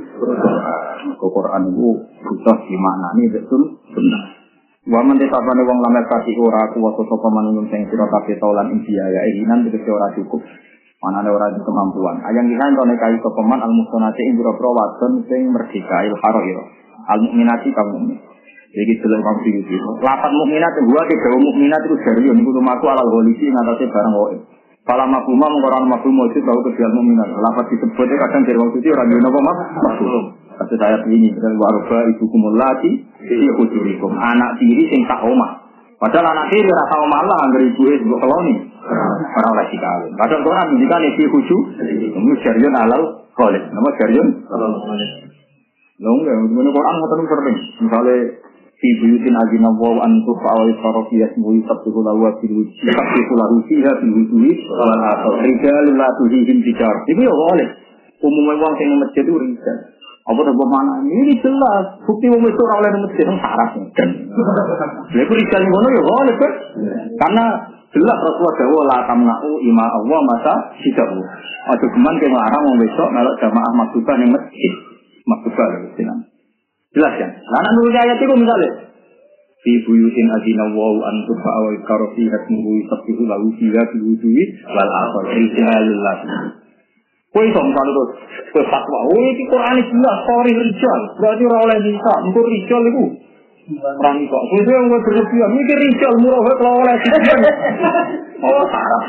Quran itu butuh di mana nih betul benar. Waman desapane wong lamar kasih ora kuwasa sapa manungsa sing sira kabeh taulan India ya ini nanti wis ora cukup. Mana ada orang kemampuan. Ayang kita entone kai kepeman al mustonati ing boro-boro wadon sing merdeka il haroiro. Al mukminati kaum mukmin. Jadi delok kaum iki. Lapat mukminat gua ke gawe mukminat itu dari yo niku lumaku alal polisi ngatasi barang wae. Fala mafhuma mung ora mafhum mujud tahu ke dial mukminat. Lapat disebutnya kadang dari wong suci ora yo napa mafhum. Kasus ayat ini dari waroba ibu kumulati iki kujurikum anak tiri sing tak omah. Padahal anak tiri ora tau malah anggere ibuke mbok keloni. Orang lagi kawin. Padahal Quran menunjukkan isi khusu, itu syariun alal kholid. Nama syariun alal kholid. Lalu enggak, menurut Quran ngotot sering. Misalnya fi buyutin azina wa an turfa'u farqiyat mu'i sabtu lahu wa fil wujud sabtu lahu fiha fil wujud wal akhir rijalun la tuhihim tijar. Itu ya boleh. Umumnya wong sing masjid itu rijal. Apa tak bermakna ini jelas bukti wong itu ora oleh masjid nang syarat. Lha iku rijal ngono ya boleh kan? Karena jelas Rasulullah dawuh la tamna'u ima Allah masa sidahu. Aja geman ke larang wong besok melok jamaah maktubah ning masjid. Maktubah lho jeneng. Jelas ya. Lah nek nurut ayat iku misale fi buyutin adina wa an tufa wa karofi hatmu sabtu lahu fiha fi wujudi wal akhir rijalullah. Kowe iso misale terus kowe fatwa, oh iki Quran iki jelas story rijal. Berarti ora oleh bisa, engko rijal iku orang itu, itu yang gue berlebihan, mikir rijal murah kalau oleh siapa? Oh sarap,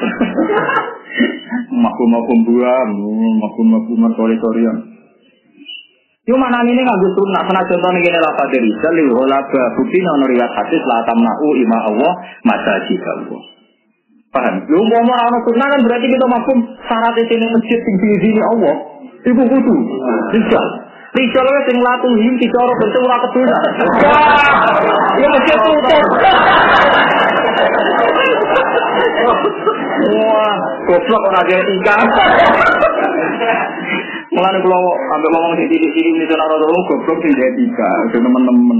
makum-makum buam, makum-makuman sore-sorean. Cuma nanti ini nggak gustu, nak pernah contoh nih gini lah pada rijal, lihat bukti nono riwayat hadis lah tamna'u ima Allah masajid Allah. Paham? Lu mau mau orang sunnah kan berarti kita makum syarat di sini masjid tinggi sini Allah, ibu kudu rijal. Rijal wis sing latuhim dicara bentuk ora keduna. Ya mesti tutup. Wah, goblok ora ada etika. Mulane kula ambek ngomong sing titik-titik iki ora ora goblok sing etika, teman-teman.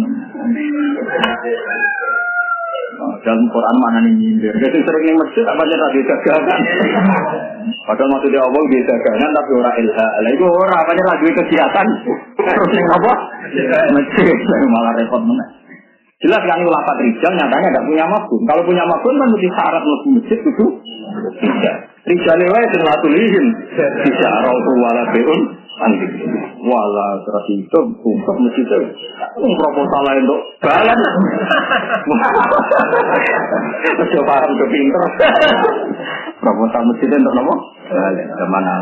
Dalam Quran mana nih nyindir? Jadi sering yang masjid apa aja tadi dagangan. Padahal maksudnya Allah dia dagangan tapi orang ilha. Lah itu orang apa aja lagi kegiatan. Terus yang apa? Masjid malah repot mana? Jelas kan ulama rijal nyatanya tidak punya mafhum. Kalau punya mafhum kan mesti syarat mesti masjid itu. Tidak. Rijal lewat yang latulihin. Bisa rautu wala beun. Anjing, wala terus itu untuk masjid itu, um proposal lain dok, balan, coba paham kepinter, proposal masjid untuk nopo, balan, kemana?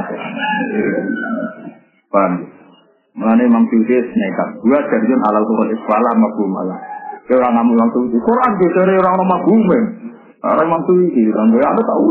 Paham? Mengenai Imam Syuuti nekat, dua jadian alal Quran iswala mabu malah, Orang ngamu orang suci. Quran dari orang nama bumen. Orang memang suci. Orang gue ada tahu.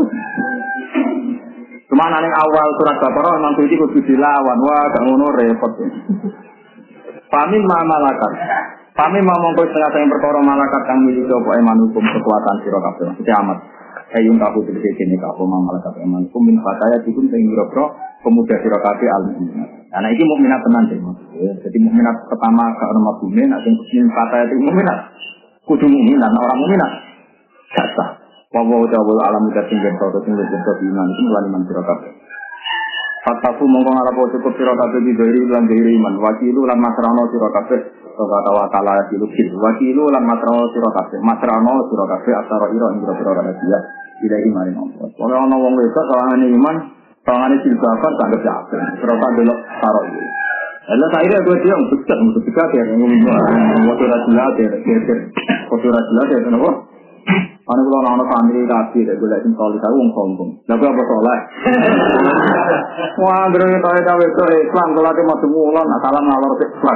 Cuma nang awal surat Baqarah memang suci kudu dilawan. Wah, gak ngono repot. Pamin ma malakat. Pamin ma mongko setengah sing perkara malakat kang miliki apa iman hukum kekuatan sira kabeh. Kiamat. Ayun kaku tegese kene kaku ma malakat iman hukum min fataya dikun sing biro-biro pemuda sira kabeh al-mukminat. Nah iki mukminat tenan deh. Jadi mukminat pertama gak ono mabune nek sing min fataya itu mukminat. Kudu mukminat orang mukminat. Kata Wawa jawul alam udah tinggal kau tinggal jadi iman itu melalui iman sira kabeh. Fatafu mongko ngarapo cukup sira kabeh di dari lan dari iman. Wakilu lan masrano sira kabeh kata wa taala dilukil. Wakilu lan masrano sira kabeh. Masrano sira kabeh asara ira ing sira rahasia tidak iman Allah. Ora ana wong wedok sawangane iman, sawangane silbafat tanggap kabeh. Sira kabeh delok karo iki. Allah saya dia dia betul betul dekat ya ngomong waktu rasulah dia dia waktu rasulah dia kenapa? Ane kula ana family rapi dek golek sing solid aku wong sombong. Lah apa soleh? Wah, ndere tae tae to Islam kula te madu mulon salam ngalor sik bar.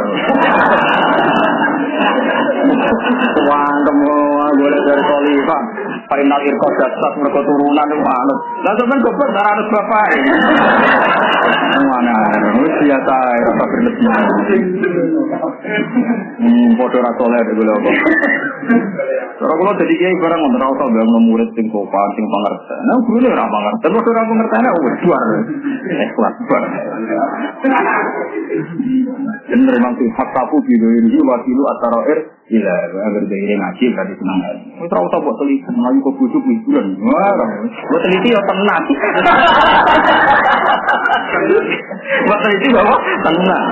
Wah, temu golek dari solid Pak. Parinal irko dasar mergo turunan niku anut. Lah sampean goblok ora anut bapak. Mana wis biasa ora berlebih. Hmm, padha ra soleh dek golek apa. Ora kula dadi kiai barang ngono ora usah bangun murid sing sopan sing pangerten. Nah gurune ora pangerten, terus ora pangertene wedhuar. Ikhlas bar. Bener memang sing hakafu bidoiri wakilu atarair ila agar dari ngaji tadi senang. Wis ora usah mbok teliti mlayu kok busuk hiburan. Wah, mbok teliti yo tenang. Mbok teliti bawa tenang.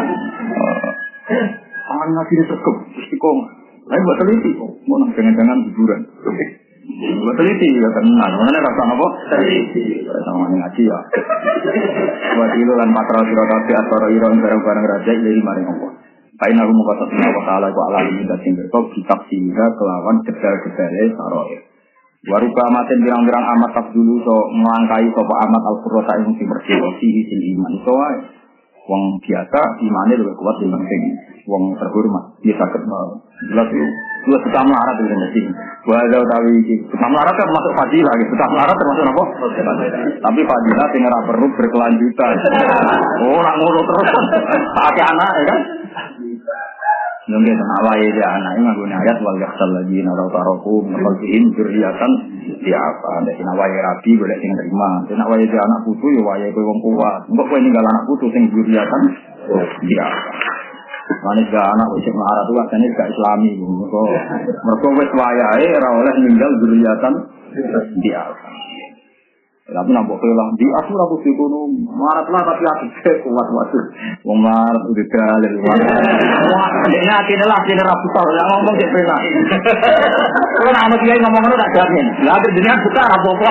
Aman ngaji sekep istiqomah. Ayo buat teliti, mau nang jangan-jangan hiburan. Buat teliti, ya tenang. Mana rasa apa? Teliti. Sama ngaji ya. Buat itu lan patra sira kabeh atara ira barang-barang raja dari maring Allah. Paina rumu kata Allah Taala ku alami minta sing berkok kitab singga kelawan gedal-gedale saroe. Waruka amaten birang-birang amat tak dulu so melangkai sapa amat al-qurra ing sing bersih sing iman. So wong biasa imane luwih kuat dibanding wong terhormat. Dia sakit mau. Jelas itu. Dua suka melarat itu mesti. Bahasa utawi iki. Suka melarat kan termasuk fadilah gitu. Suka melarat termasuk apa? Tapi fadilah sing ora perlu berkelanjutan. Oh, ora ngono terus. Pakai anak ya kan? Nggih ten awake dia anak iki nganggo ayat wal yakhsal ladina rautaroku maqalihim dzurriatan di apa nek awake rabi golek sing terima. Nek awake dia anak putu ya wayahe kowe wong kuat. Engko kowe ninggal anak putu sing dzurriatan di apa. Manis gak anak wis melarat tuh asane gak islami mergo mergo wis wayahe ora oleh ninggal dzurriatan di apa. Tapi nampak kelah di aku aku dikono marat lah tapi aku kuat waduh wong marat udah dalil wah dene atine lah dene ra buta ya ngomong sik penak kalau ana kiai ngomong ngono tak jamin lha akhir jenengan buta ra apa-apa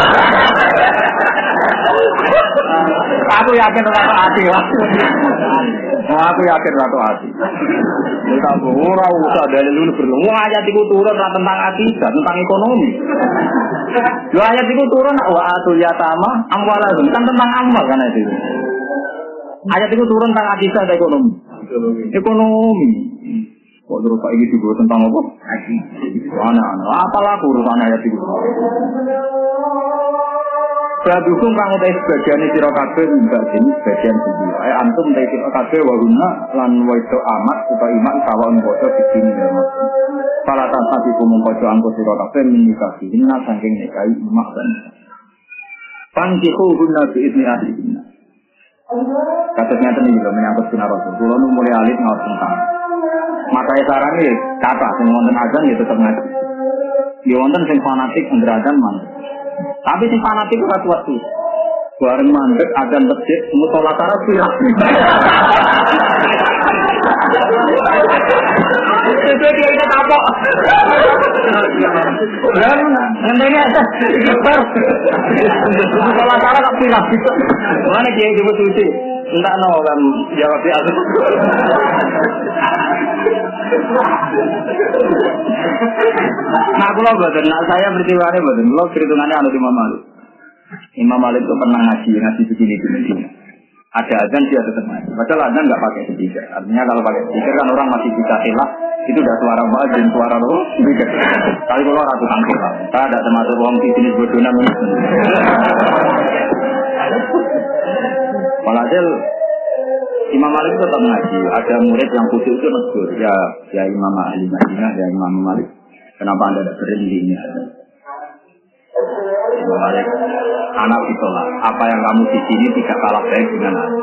aku yakin ora ati aku yakin ora ati kita ora usah dalil dulu perlu ayat iku turun ra tentang ati tentang ekonomi yo ayat iku turun wa yatama amwalahum kan tentang amal kan itu. Ayat itu turun tentang akhirat dan ekonomi. Ekonomi. Kok terus Pak iki juga tentang apa? Ana-ana. Apalah urusan ayat itu. Sadukung kang utai sebagian sira kabeh mbak dene sebagian siji. Ae antum utai sira kabeh wa guna lan wedo amat supaya iman sawang bocah dikini ya. Para tanpa mengkoco angko sira kabeh menikah hina saking nikahi imak dan Pangkihu guna biizni ahlihinna. Kasusnya ini juga menyangkut sunnah Rasul. Kalau nu mulai alit ngawat tentang. Makanya saran ini kata sing wonten azan ya tetap ngaji. Di wonten sing fanatik ngerazan mandek. Tapi sing fanatik ora kuat tuh. Bareng mandek azan masjid musola taraf pirang. Itu dia itu apa? Dan ngenteni aja. Super. Kalau salah tak pilih gitu. Mana dia itu betul sih? Enggak no kan jawab dia. Nah, kalau betul, nah saya bertiwari betul. Kalau perhitungannya ada Imam Malik. Imam Malik itu pernah ngaji ngaji begini begini. ada azan dia tetap ngaji. Padahal azan nggak pakai speaker. Artinya kalau pakai speaker kan orang masih bisa hilang. Itu udah suara muadzin, suara roh. Kali kalau ratu tangkil, saya ada termasuk orang di sini bodohnya mungkin. Walhasil Imam Malik tetap ngaji. Ada murid yang khusus itu negur, ya, ya Imam ahli Madinah, ya Imam Malik. Kenapa anda tidak berhenti? Imam Malik, anak ditolak. Apa yang kamu di sini tidak kalah baik dengan aku.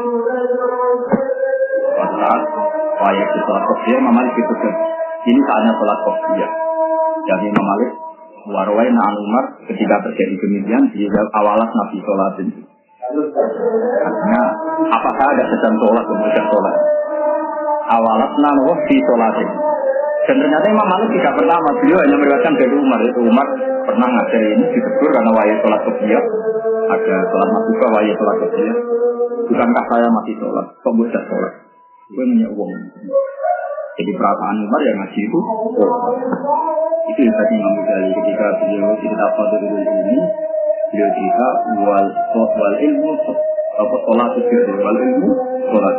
Saat wajib sholat kopiah, Imam Malik itu kan. Ini saatnya sholat kopiah. Jadi Imam Malik, warwai na'an Umar, ketika terjadi demikian, dia awalas Nabi sholat itu. Artinya, apakah ada sedang sholat kemudian sholat? Awalas na'an Umar di sholat itu. Dan ternyata Imam Malik tidak pertama, beliau hanya meriwayatkan dari Umar. Itu Umar pernah ngajar ini ditegur karena wajib sholat kopiah. Ada sholat masuka wajib sholat kopiah. Bukankah saya masih sholat? Kok bisa sholat? Gue punya uang. Jadi perasaan Umar yang ngaji itu oh. Itu yang tadi Imam Ghazali ketika beliau cerita pada dulu ini, beliau cerita wal wal ilmu apa sholat itu wal ilmu sholat.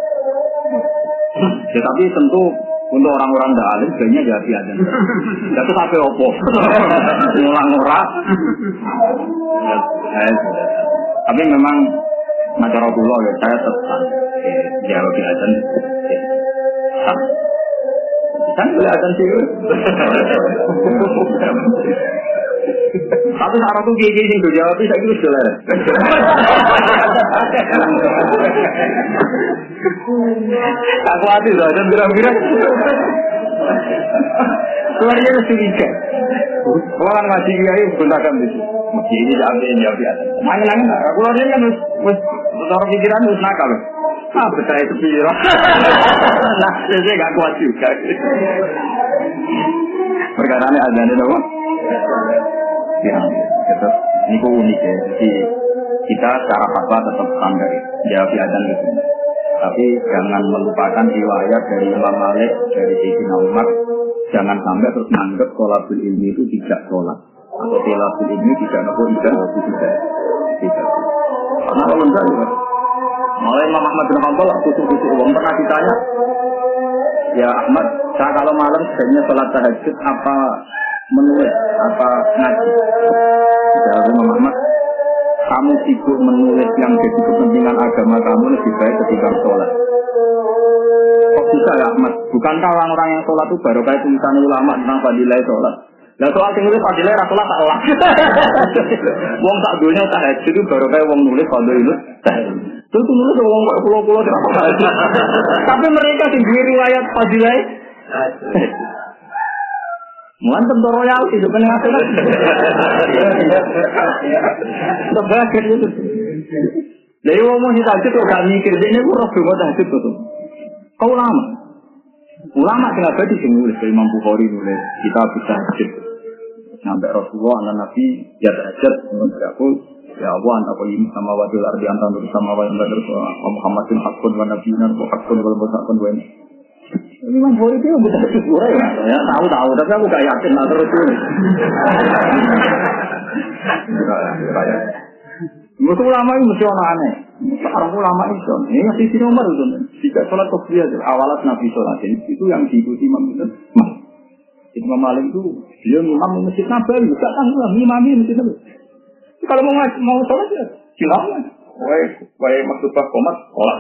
Tetapi tentu untuk orang-orang dah alim sebenarnya jadi ada. Jatuh sampai opo, ngulang ngurak. Tapi memang macara pulau ya saya tetap jawab biasa. Kan kelihatan sih. Tapi saat aku gigi sing jawab bisa gitu jelas. Aku hati dah dan kira-kira. Keluarnya curiga. Orang ngaji kiai gunakan itu. Mesti ini ambil jawab biasa. Nangis-nangis aku keluarnya kan wis cara pikiran wis nakal. Ah, betul itu pikiran. Nah, saya enggak kuat juga. Perkarane azan itu apa? Ya, tetap ini kok unik ya. Jadi kita secara fatwa tetap standar jawab azan itu. Tapi jangan melupakan riwayat dari Imam Malik, dari Sayyidina Umar. Jangan sampai terus menganggap sholabul ilmi itu tidak sholat. Atau sholabul ilmi tidak nopo tidak tidak tidak. Karena kalau enggak ya. Mulai Imam Ahmad bin Hanbal kusuk-kusuk uang pernah ditanya, ya Ahmad, saya kalau malam sebenarnya sholat tahajud apa menulis, apa ngaji? Ya Imam Ahmad, kamu sibuk menulis yang jadi kepentingan agama kamu lebih baik ketika sholat. Kok bisa ya Ahmad? Bukankah orang-orang yang sholat itu baru kayak tulisan ulama tentang fadilah sholat? Lah soal sing nulis fadilah ra sholat tak olah. Wong tak dunya tahajud itu baru kayak wong nulis fadilah. Tentu nulis wong kok pulau-pulau tidak. Tapi mereka sing duwe riwayat fadilah. Mantap to royalti itu kan akhirat. Sebagai itu. Lah wong mau tahajud kok gak mikir dene ku roh kok tahajud to. Kau ulama. Ulama sing abadi sing nulis Imam Bukhari nulis kitab tahajud. Sampai Rasulullah dan Nabi ya tahajud mengaku ya Allah anta qayyim sama wadul ardi anta nur sama wa anta nur Muhammadin haqqun wa nabiyina wa haqqun wal mutaqin wa Imam Bukhari itu bukan sesuatu ya, ya tahu-tahu tapi aku gak yakin lah terus ini. Mesti ulama itu mesti orang aneh. Sekarang ulama itu, ini masih di nomor itu. Jika sholat kopiah awalat Nabi sholat itu yang diikuti Imam itu. Imam Malik itu dia imam di masjid Nabawi, bukan tanggung imami masjid Nabawi. Kalau mau mau sholat ya silakan. Wah, wah maksudnya komat sholat.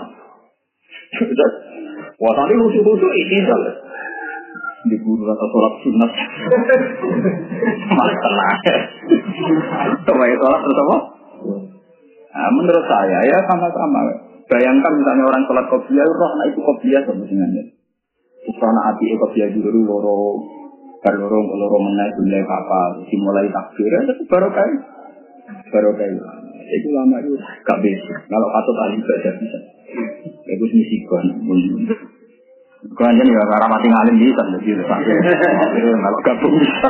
Wah tadi lucu-lucu ini saja. Di guru atau sholat sunat. Malah tenang. Coba sholat terus apa? Nah, menurut saya ya sama-sama. Bayangkan misalnya orang sholat kopiah, roh anak itu kopiah sebenarnya. Karena hati kopiah dulu loro, baru loro loro menai mulai apa, dimulai takbir, itu baru kayak, baru kayak. Itu lama itu gak bisa. Kalau patut ahli baca bisa. Itu misi kon. Kan jadi orang mati ngalim bisa, jadi kalau gabung bisa.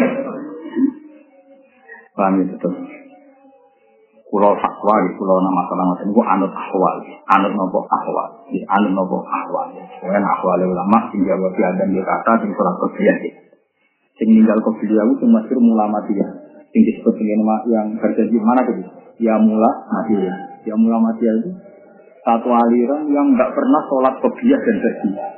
Paham itu tuh. Pulau fatwa di pulau nama masalah macam itu anut ahwal, anut nopo ahwal, di anut nopo ahwal. Kemudian ahwal ulama tinggal bagi adam di kata tinggal sholat kopiah. Tinggal kopiah itu masih ulama dia. Tinggi seperti nama yang terjadi mana tu? Ya mula mati ya. Ya mula mati itu satu aliran yang nggak pernah sholat qobliyah dan ba'diyah.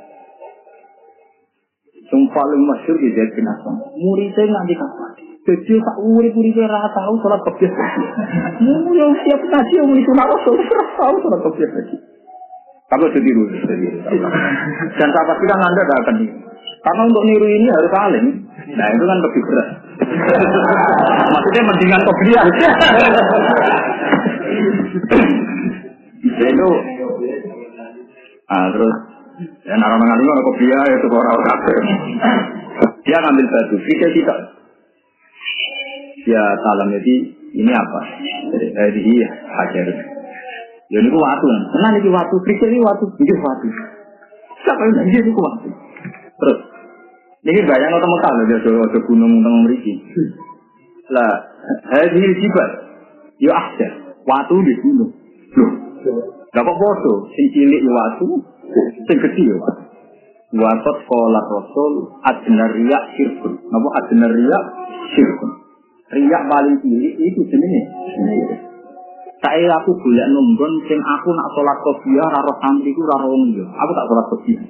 Yang paling masyhur di Zaid bin Aslam. Muridnya nanti kapan? Jadi tak murid-muridnya rata tahu sholat qobliyah ba'diyah. Mu yang siap ngaji yang itu nak sholat tahu sholat qobliyah ba'diyah. Kamu sendiri dulu, dan saya pastikan Anda tidak akan niru. Karena untuk niru ini harus alim. Nah itu kan lebih berat. Maksudnya mendingan qobliyah. Itu, ah terus, ya narang ngali orang qobliyah itu orang kafir. Dia ngambil batu, kita tidak. Dia salam jadi ini apa? Jadi dia hajar. Ya ini ku waktu, tenang ini waktu, krikir ini waktu, ini waktu. Siapa yang ini ku waktu? Terus, ini bayang atau Mekah loh, dia ada gunung tengah meriki. Lah, hadhil jibal, ya ahjar, waktu di gunung. Loh, gak apa foto, sing cilik ya waktu, sing kecil ya waktu. Watot sekolah Rasul, adnar riyak syirkun. Napa adnar riyak syirkun? Riyak paling cilik itu jenisnya. Saya aku boleh nunggon, sing aku nak sholat qobliyah, raro santri ku raro wong liya. Aku tak sholat qobliyah.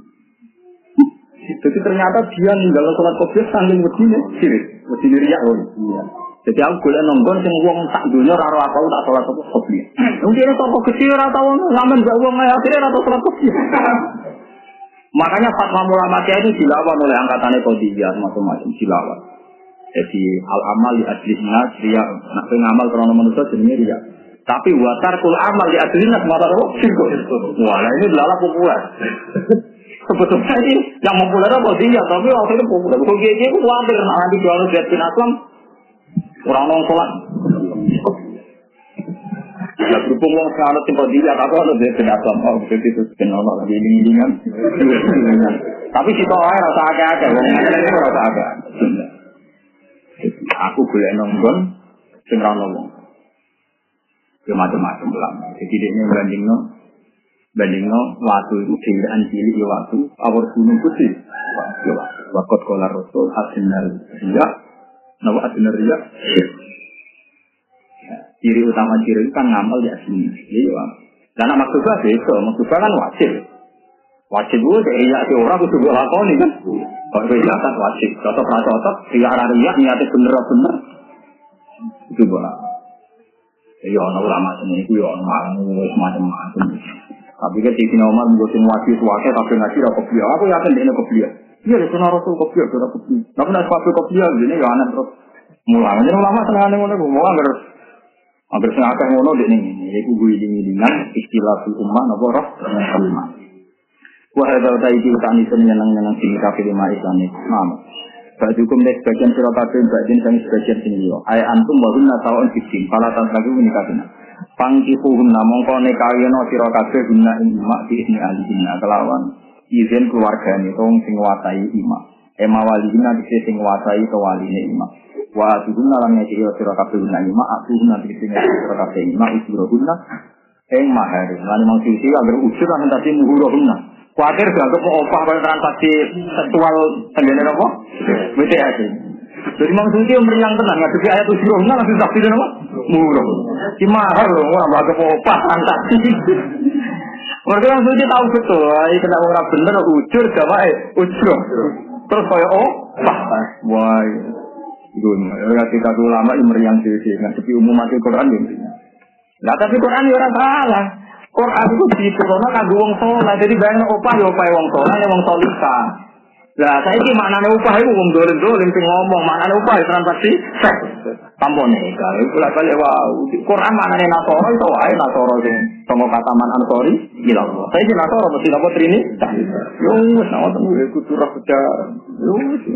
Jadi ternyata dia ninggal sholat qobliyah saking wedine, sirik, wedine riyak loh. Iya. Jadi aku boleh nunggon, sing wong sak dunya raro aku tak sholat qobliyah. Mungkin toko kecil rata wong ngamen gak wong akhirnya rata sholat qobliyah. Makanya fatwa ulama itu dilawan oleh angkatannya Qadiriyah macam-macam dilawan. Jadi al-amal di adlisna dia nak ngamal karena manusia jenenge riya. Tapi watarkul amal di adlisna semata roh syirk. Wah, ini adalah populer. Sebetulnya ini yang populer apa dia, tapi waktu itu populer. Kok dia itu khawatir nanti jual Zaid bin Aslam orang nong sholat. Ya berhubung wong sekarang tipe dia, tapi ada Zaid bin Aslam. Oh, begitu itu kenal lagi dingin-dingan. Tapi si toh rasa agak-agak, wong ini rasa agak. Aku boleh nonggon, sing ra ngomong. Ya macam-macam lah. Jadi dia bandingno, bandingno waktu itu dhewean cilik ya waktu awal gunung putih. Ya waktu kolar Rasul adnar riya, nawa adnar riya. Ciri utama ciri itu kan ngamal di asli. Iya. Dan maksudnya itu, maksudnya kan wajib. Wajib itu riya si orang kudu lakoni kan. Kalau riya kan wajib. Cocok ra cocok, riya ra riya niate bener-bener. Itu boleh. Ya ana ulama sini iku ya ana macam-macam. Tapi kan di sini Umar mboten wajib wae tapi ngaji ra kopiah. Aku yakin dene kopiah. Iya lek ana rasul kopiah ora kopiah. Nek nek sepatu kopiah dene ya ana terus. Mulane ulama senengane ngono ku mau anggar anggar sing akeh ngono dene ngene. Iku guling-gulingan istilah ummah napa roh. Wah ada taiki utani seneng-seneng sing kafir lima Islam. Nam. Bajukum nek bagian sira kabeh bagian sing sebagian sing liya. Ay antum wa hunna ta'un fitin. Fala tantaku menikahna. Pangkihuhum mongko nekawena sira kabeh guna ing mak di ini alihina kelawan izin keluargane tong sing nguasai imak. Ema walihina dise sing nguasai to waline imak. Wa tuhunna lan nek sira kabeh guna imak, tuhunna dise sing sira kabeh imak usrohunna ing mahar. Lan mau sisi agar usur lan tadi muhurohunna. Kuatir gak kok opah kalau transaksi seksual tendene apa? W T S. Jadi maksudnya meriang tenang ya jadi ayat usroh nggak langsung saksi dan apa? Murah. Si mahal loh, wah gak kok opah transaksi. Mereka maksudnya tahu betul, ini kena orang bener ujur sama eh ujur. Terus kayak opah. Wah, gun. Ketika ulama ini meriang sih, nggak seperti umum mati Quran ini. Nah tapi Quran ya orang salah. Quran itu diturunkan kanggo wong saleh. Jadi bayang opah ya opah wong saleh, wong salihah. Lah saiki maknane opah iku wong dolim-dolim sing ngomong, maknane opah transaksi seks. Tampone kae kula kale wow. Quran maknane nasara itu wae nasara sing sanga kataman Ansori ilang. Saiki nasara mesti napa trini? Yo wis ana tenan kudu ra sejarah. Yo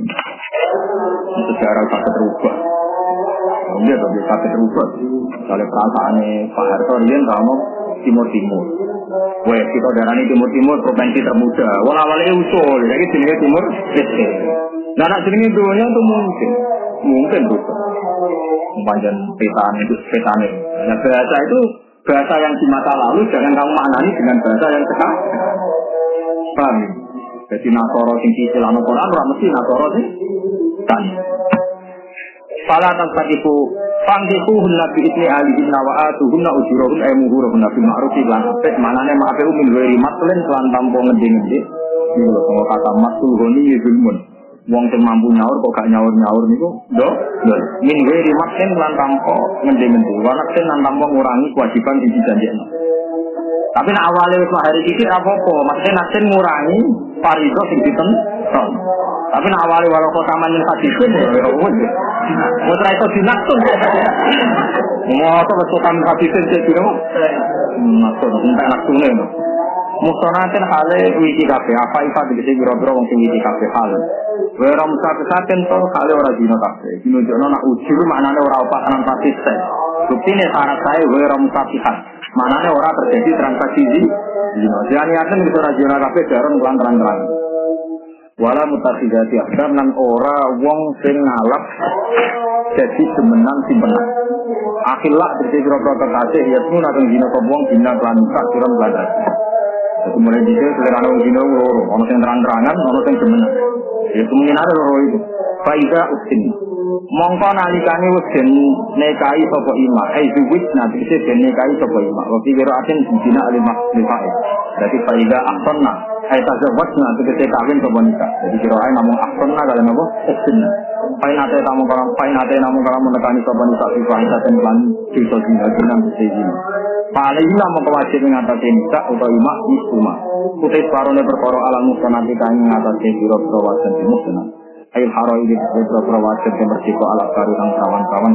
sejarah tak terubah. Dia tak bisa terubah. Kalau perasaannya Pak Harto dia ngomong Timur-Timur. Wah, kita darahnya Timur-Timur provinsi termuda. Wah, awalnya usul, jadi sini Timur. Nah, nak sini dunia itu mungkin, mungkin bisa. Panjang petan itu petan. Nah, bahasa itu bahasa yang di masa lalu jangan kamu maknani dengan bahasa yang sekarang. Paham? Jadi Nasoro sing istilah Quran ora mesti Nasoro sing kan. Fala tantakifu fangkifuhunna bi'idni alihinna wa atuhunna ujurahun ay muhurahunna bil ma'rufi lan apik manane ma'ape min ghairi matlen lan tanpa ngende-ngende iki lho kok kata matul goni yuzulmun wong sing mampu nyaur kok gak nyaur-nyaur niku lho lho min ghairi matlen lan tanpa ngende-ngende lan lan tanpa ngurangi kewajiban sing dijanjekno tapi nek awale wis hari iki apa-apa maksudnya nasen ngurangi parido sing ditenton. Tapi nek awale walau kok taman yang hadisin ya wis. Wis ra iso dinaksun. Ngopo kok taman hadisin cek dino? Naksun entek naksune. Mustonaten hale wiki kafe apa ifa dise biro-biro wong sing wiki kafe hal. Wera musaten to hale ora dino kafe. Dino jono nak ujul maknane ora opakan konsisten. Buktine syarat saya wera musafihan. Manane ora terjadi transaksi zina. Jadi akan bisa rajin kafe jaron kelan terang-terang. Wala mutakhidati akdam lan ora wong sing ngalap jadi semenang simpenan. Akhillah dadi kira-kira kekasih ya pun akan dina wong dina lan sak kira belanda. Jadi mulai dhisik selera wong dina loro, ana sing terang-terangan, ana sing semenang. Ya kemungkinan ada loro itu. Faida ustin. Mongko nalikane wis den nekai sapa ima, ai zuwit nabi se den nekai sapa ima. Wa fi qira'atin dina alimah lifa'i. Dadi faida ahsanna ai tazawwajna tegese kawin sapa nikah. Jadi qira'ah namung ahsanna kala napa? Ustinna. Pain ate tamu kala pain ate namung kala menekani sapa nikah fi fa'idaten lan dosa dina jeneng sejina. Paling lama kewajib mengatasi nikah utawa ima isuma. Kutis parone perkara alam mustanati kang ngatasi biro-biro wajan musnah. Ail haroi di beberapa wajib yang bersiko ala baru dan kawan-kawan.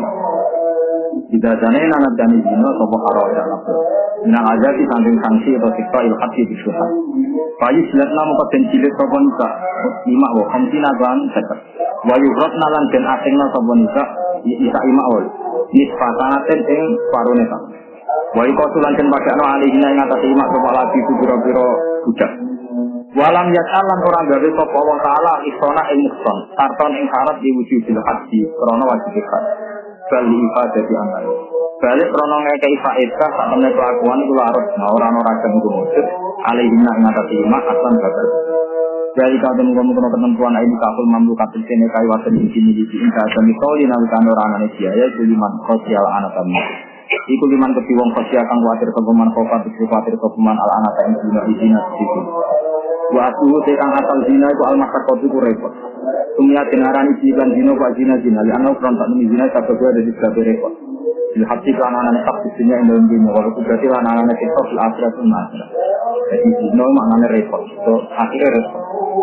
Tidak jane nanat dan izino sopo haroi dan apa. Minang aja di samping sanksi atau siksa ilhati di suha. Bayi silat namu katen cilik sopo nika lima wo kamsina ban sekat. Wayu rot nalan den asingna sopo nika isa ima ol. Nisfatanaten ing paruneka. Wayu kosulan den pakaiano alihina ing atas ima sopo lagi itu biro-biro budak. Walam yas'alan orang gawe sapa Allah taala isona ing muhsan tarton ing syarat diwujubil haji krana wajib zakat bal ifadati amal balik krana ngekeki faedah sak temne kelakuan iku larut ora ana ragam iku mujud alihina ing atas ima asan bakal dari kadang ngono ketentuan ini kaful mamlukat sene kai waten iki iki ing kadang mitoli nalikane ora ana biaya kuliman sosial anatami iku liman keti wong sosial kang kuwatir kepeman kofat kuwatir kepeman al anata ing dina izina siku waktu tekan asal zina itu al-masyarakat itu repot. Sumia dengaran isi dan zina pak zina zina. Lihat perontak demi zina satu dua dari tiga repot. Lihat si anak-anak tak isinya yang dalam dunia. Walaupun berarti anak-anak kita di akhirat itu nasra. Jadi zina maknanya repot. Itu akhirnya repot.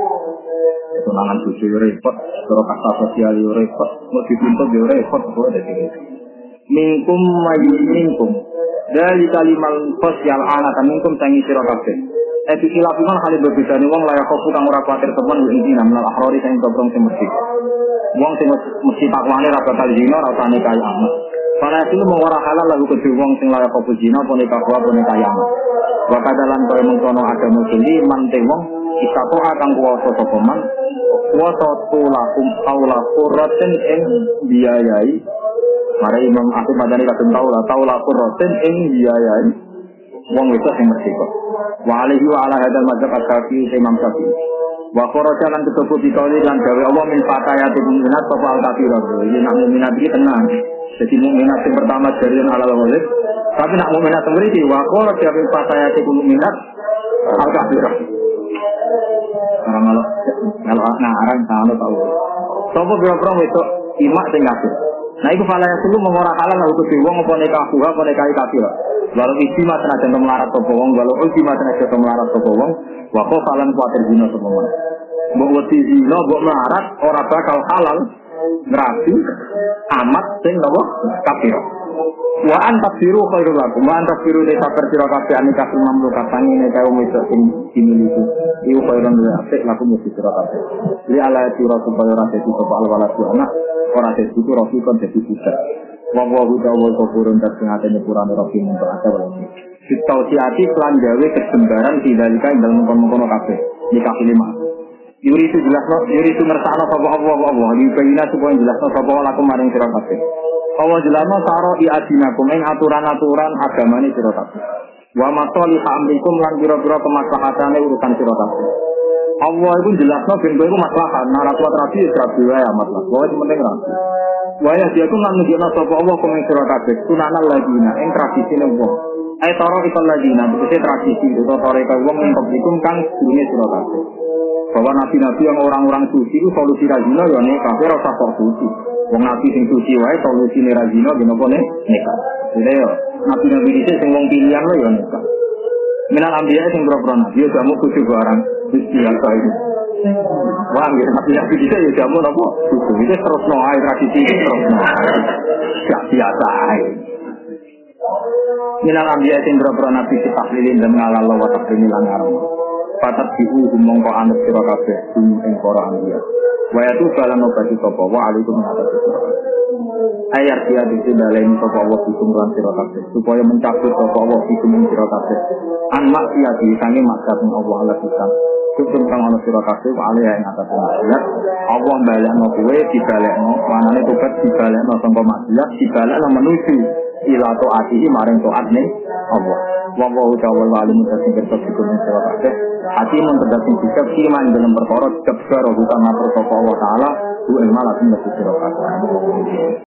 Itu nangan tujuh repot. Kalau kasta sosial itu repot. Mau dituntut itu repot. Itu ada tiga. Mingkum maju mingkum. Dari kalimat sosial anak dan mingkum tangi sirokabeh. Epi kilafiman hal berbeda nih wong layak kopu kang ora kuatir temen iki namnal akhrori sing dobrong sing mesti. Wong sing mesti takwane ra bakal zina ra usah nikah amat. Para itu mau ora halal lagu kedhe wong sing layak kopu zina apa nikah wa apa nikah amat. Wa kadalan kaya mengkono agama sili mante wong isato kang kuwasa sapa man kuwasa tulakum aula qurratin ing biayai. Mare Imam Ahmad Madani kadung taula taula qurratin ing biayai. Wong wedok sing mesti kok. Wa alaihi wa ala hadzal mazhab asy-Syafi'i Imam Syafi'i. Wa kharaja lan ketuku dikauli lan gawe Allah min fatayati mu'minat fa al-kafirah. Iki nak mukminat iki tenang. Jadi mukminat sing pertama dari halal walid. Tapi nak mukminat mriki wa kharaja min fatayati mu'minat al-kafirah. Orang kalau kalau ngarang sama tahu. Sopo boro-boro wedok imak sing kafir. Nah iku fala yasulu mengora halal untuk wong apa nikah kuha apa nikah kafir. Walau isi mah tenaga melarat sapa wong, walau ulti mah tenaga melarat sapa wong, wa kok falan kuatir zina sapa wong. Mbok wedi zina mbok melarat ora bakal halal ngrabi amat sing napa kafir. Wa antafiru khairul lakum, wa antafiru de sabar sira kabeh anika mamlukat tangine kaum wedok sing dimiliki. Iku khairun apik lakum mesti sira kabeh. Li ala sira supaya ora dadi sapa alwalatu anak, ora dadi rasul kon dadi budak. Wong wong utawa kufurun tersengat nyepurane rofi untuk ada wae. Situasi plan gawe kesembaran tidalika ing dalem kono-kono kabeh. Nikah lima. Yuri itu jelas no, yuri itu ngersakno sapa Allah Allah. Iki bayina supaya jelasno sapa lakum maring sira kabeh. Allah jelasno saro i adinakum ing aturan-aturan agamane sira kabeh. Wa masalih amrikum lan pira-pira kemaslahatane urusan sira kabeh. Allah itu jelasno ben kowe iku maslahat, nara kuat rapi rapi wae maslahat. Kowe penting rapi. Waya dia ku lan nunjukna sapa Allah kumeng sira kabeh sunanal ladina ing tradisine wong. Ai taro ikal ladina tegese tradisi utawa toreka wong ing publikum kang durunge sira kabeh. Bahwa nabi-nabi yang orang-orang suci itu solusi razina ya nikah, ora usah kok suci. Wong nabi sing suci wae solusine razina ben apa nek nikah. Jadi yo nabi-nabi dhisik sing wong pilihan lho ya nikah. Minal ambiya sing pro-pro nabi yo jamu kudu barang Gusti Allah itu. Wah, nggih nabi-nabi dhisik yo jamu napa? Kudu iki terus no ae tradisi iki terus no. Gak biasa ae. Minal ambiya sing pro-pro nabi ditahlilin dan ngalalo wa takrimi lan aram. Patat diu mongko anut sira kabeh ing para ambiya. Wa ya tu balan obati sapa wa alaikum mengatasi sira kabeh. Ayat dia dibalain sapa wa hukum lan sira kabeh supaya mencabut sapa wa hukum sira kabeh. An maksiat sange maksiat Allah ala pisan. Hukum kang ana sira kabeh wa alaiha ing atase maksiat. Allah balekno kowe dibalekno, manane tobat dibalekno sangka maksiat, dibalekno menuju ila taati maring taatne Allah. Wa wa ta'ala alim tasing kertas hukum sira kabeh. Hati menterdating sikap iman dalam perkara kebaro bukan ngatur sapa Allah taala bu ilmu lakum sira kabeh.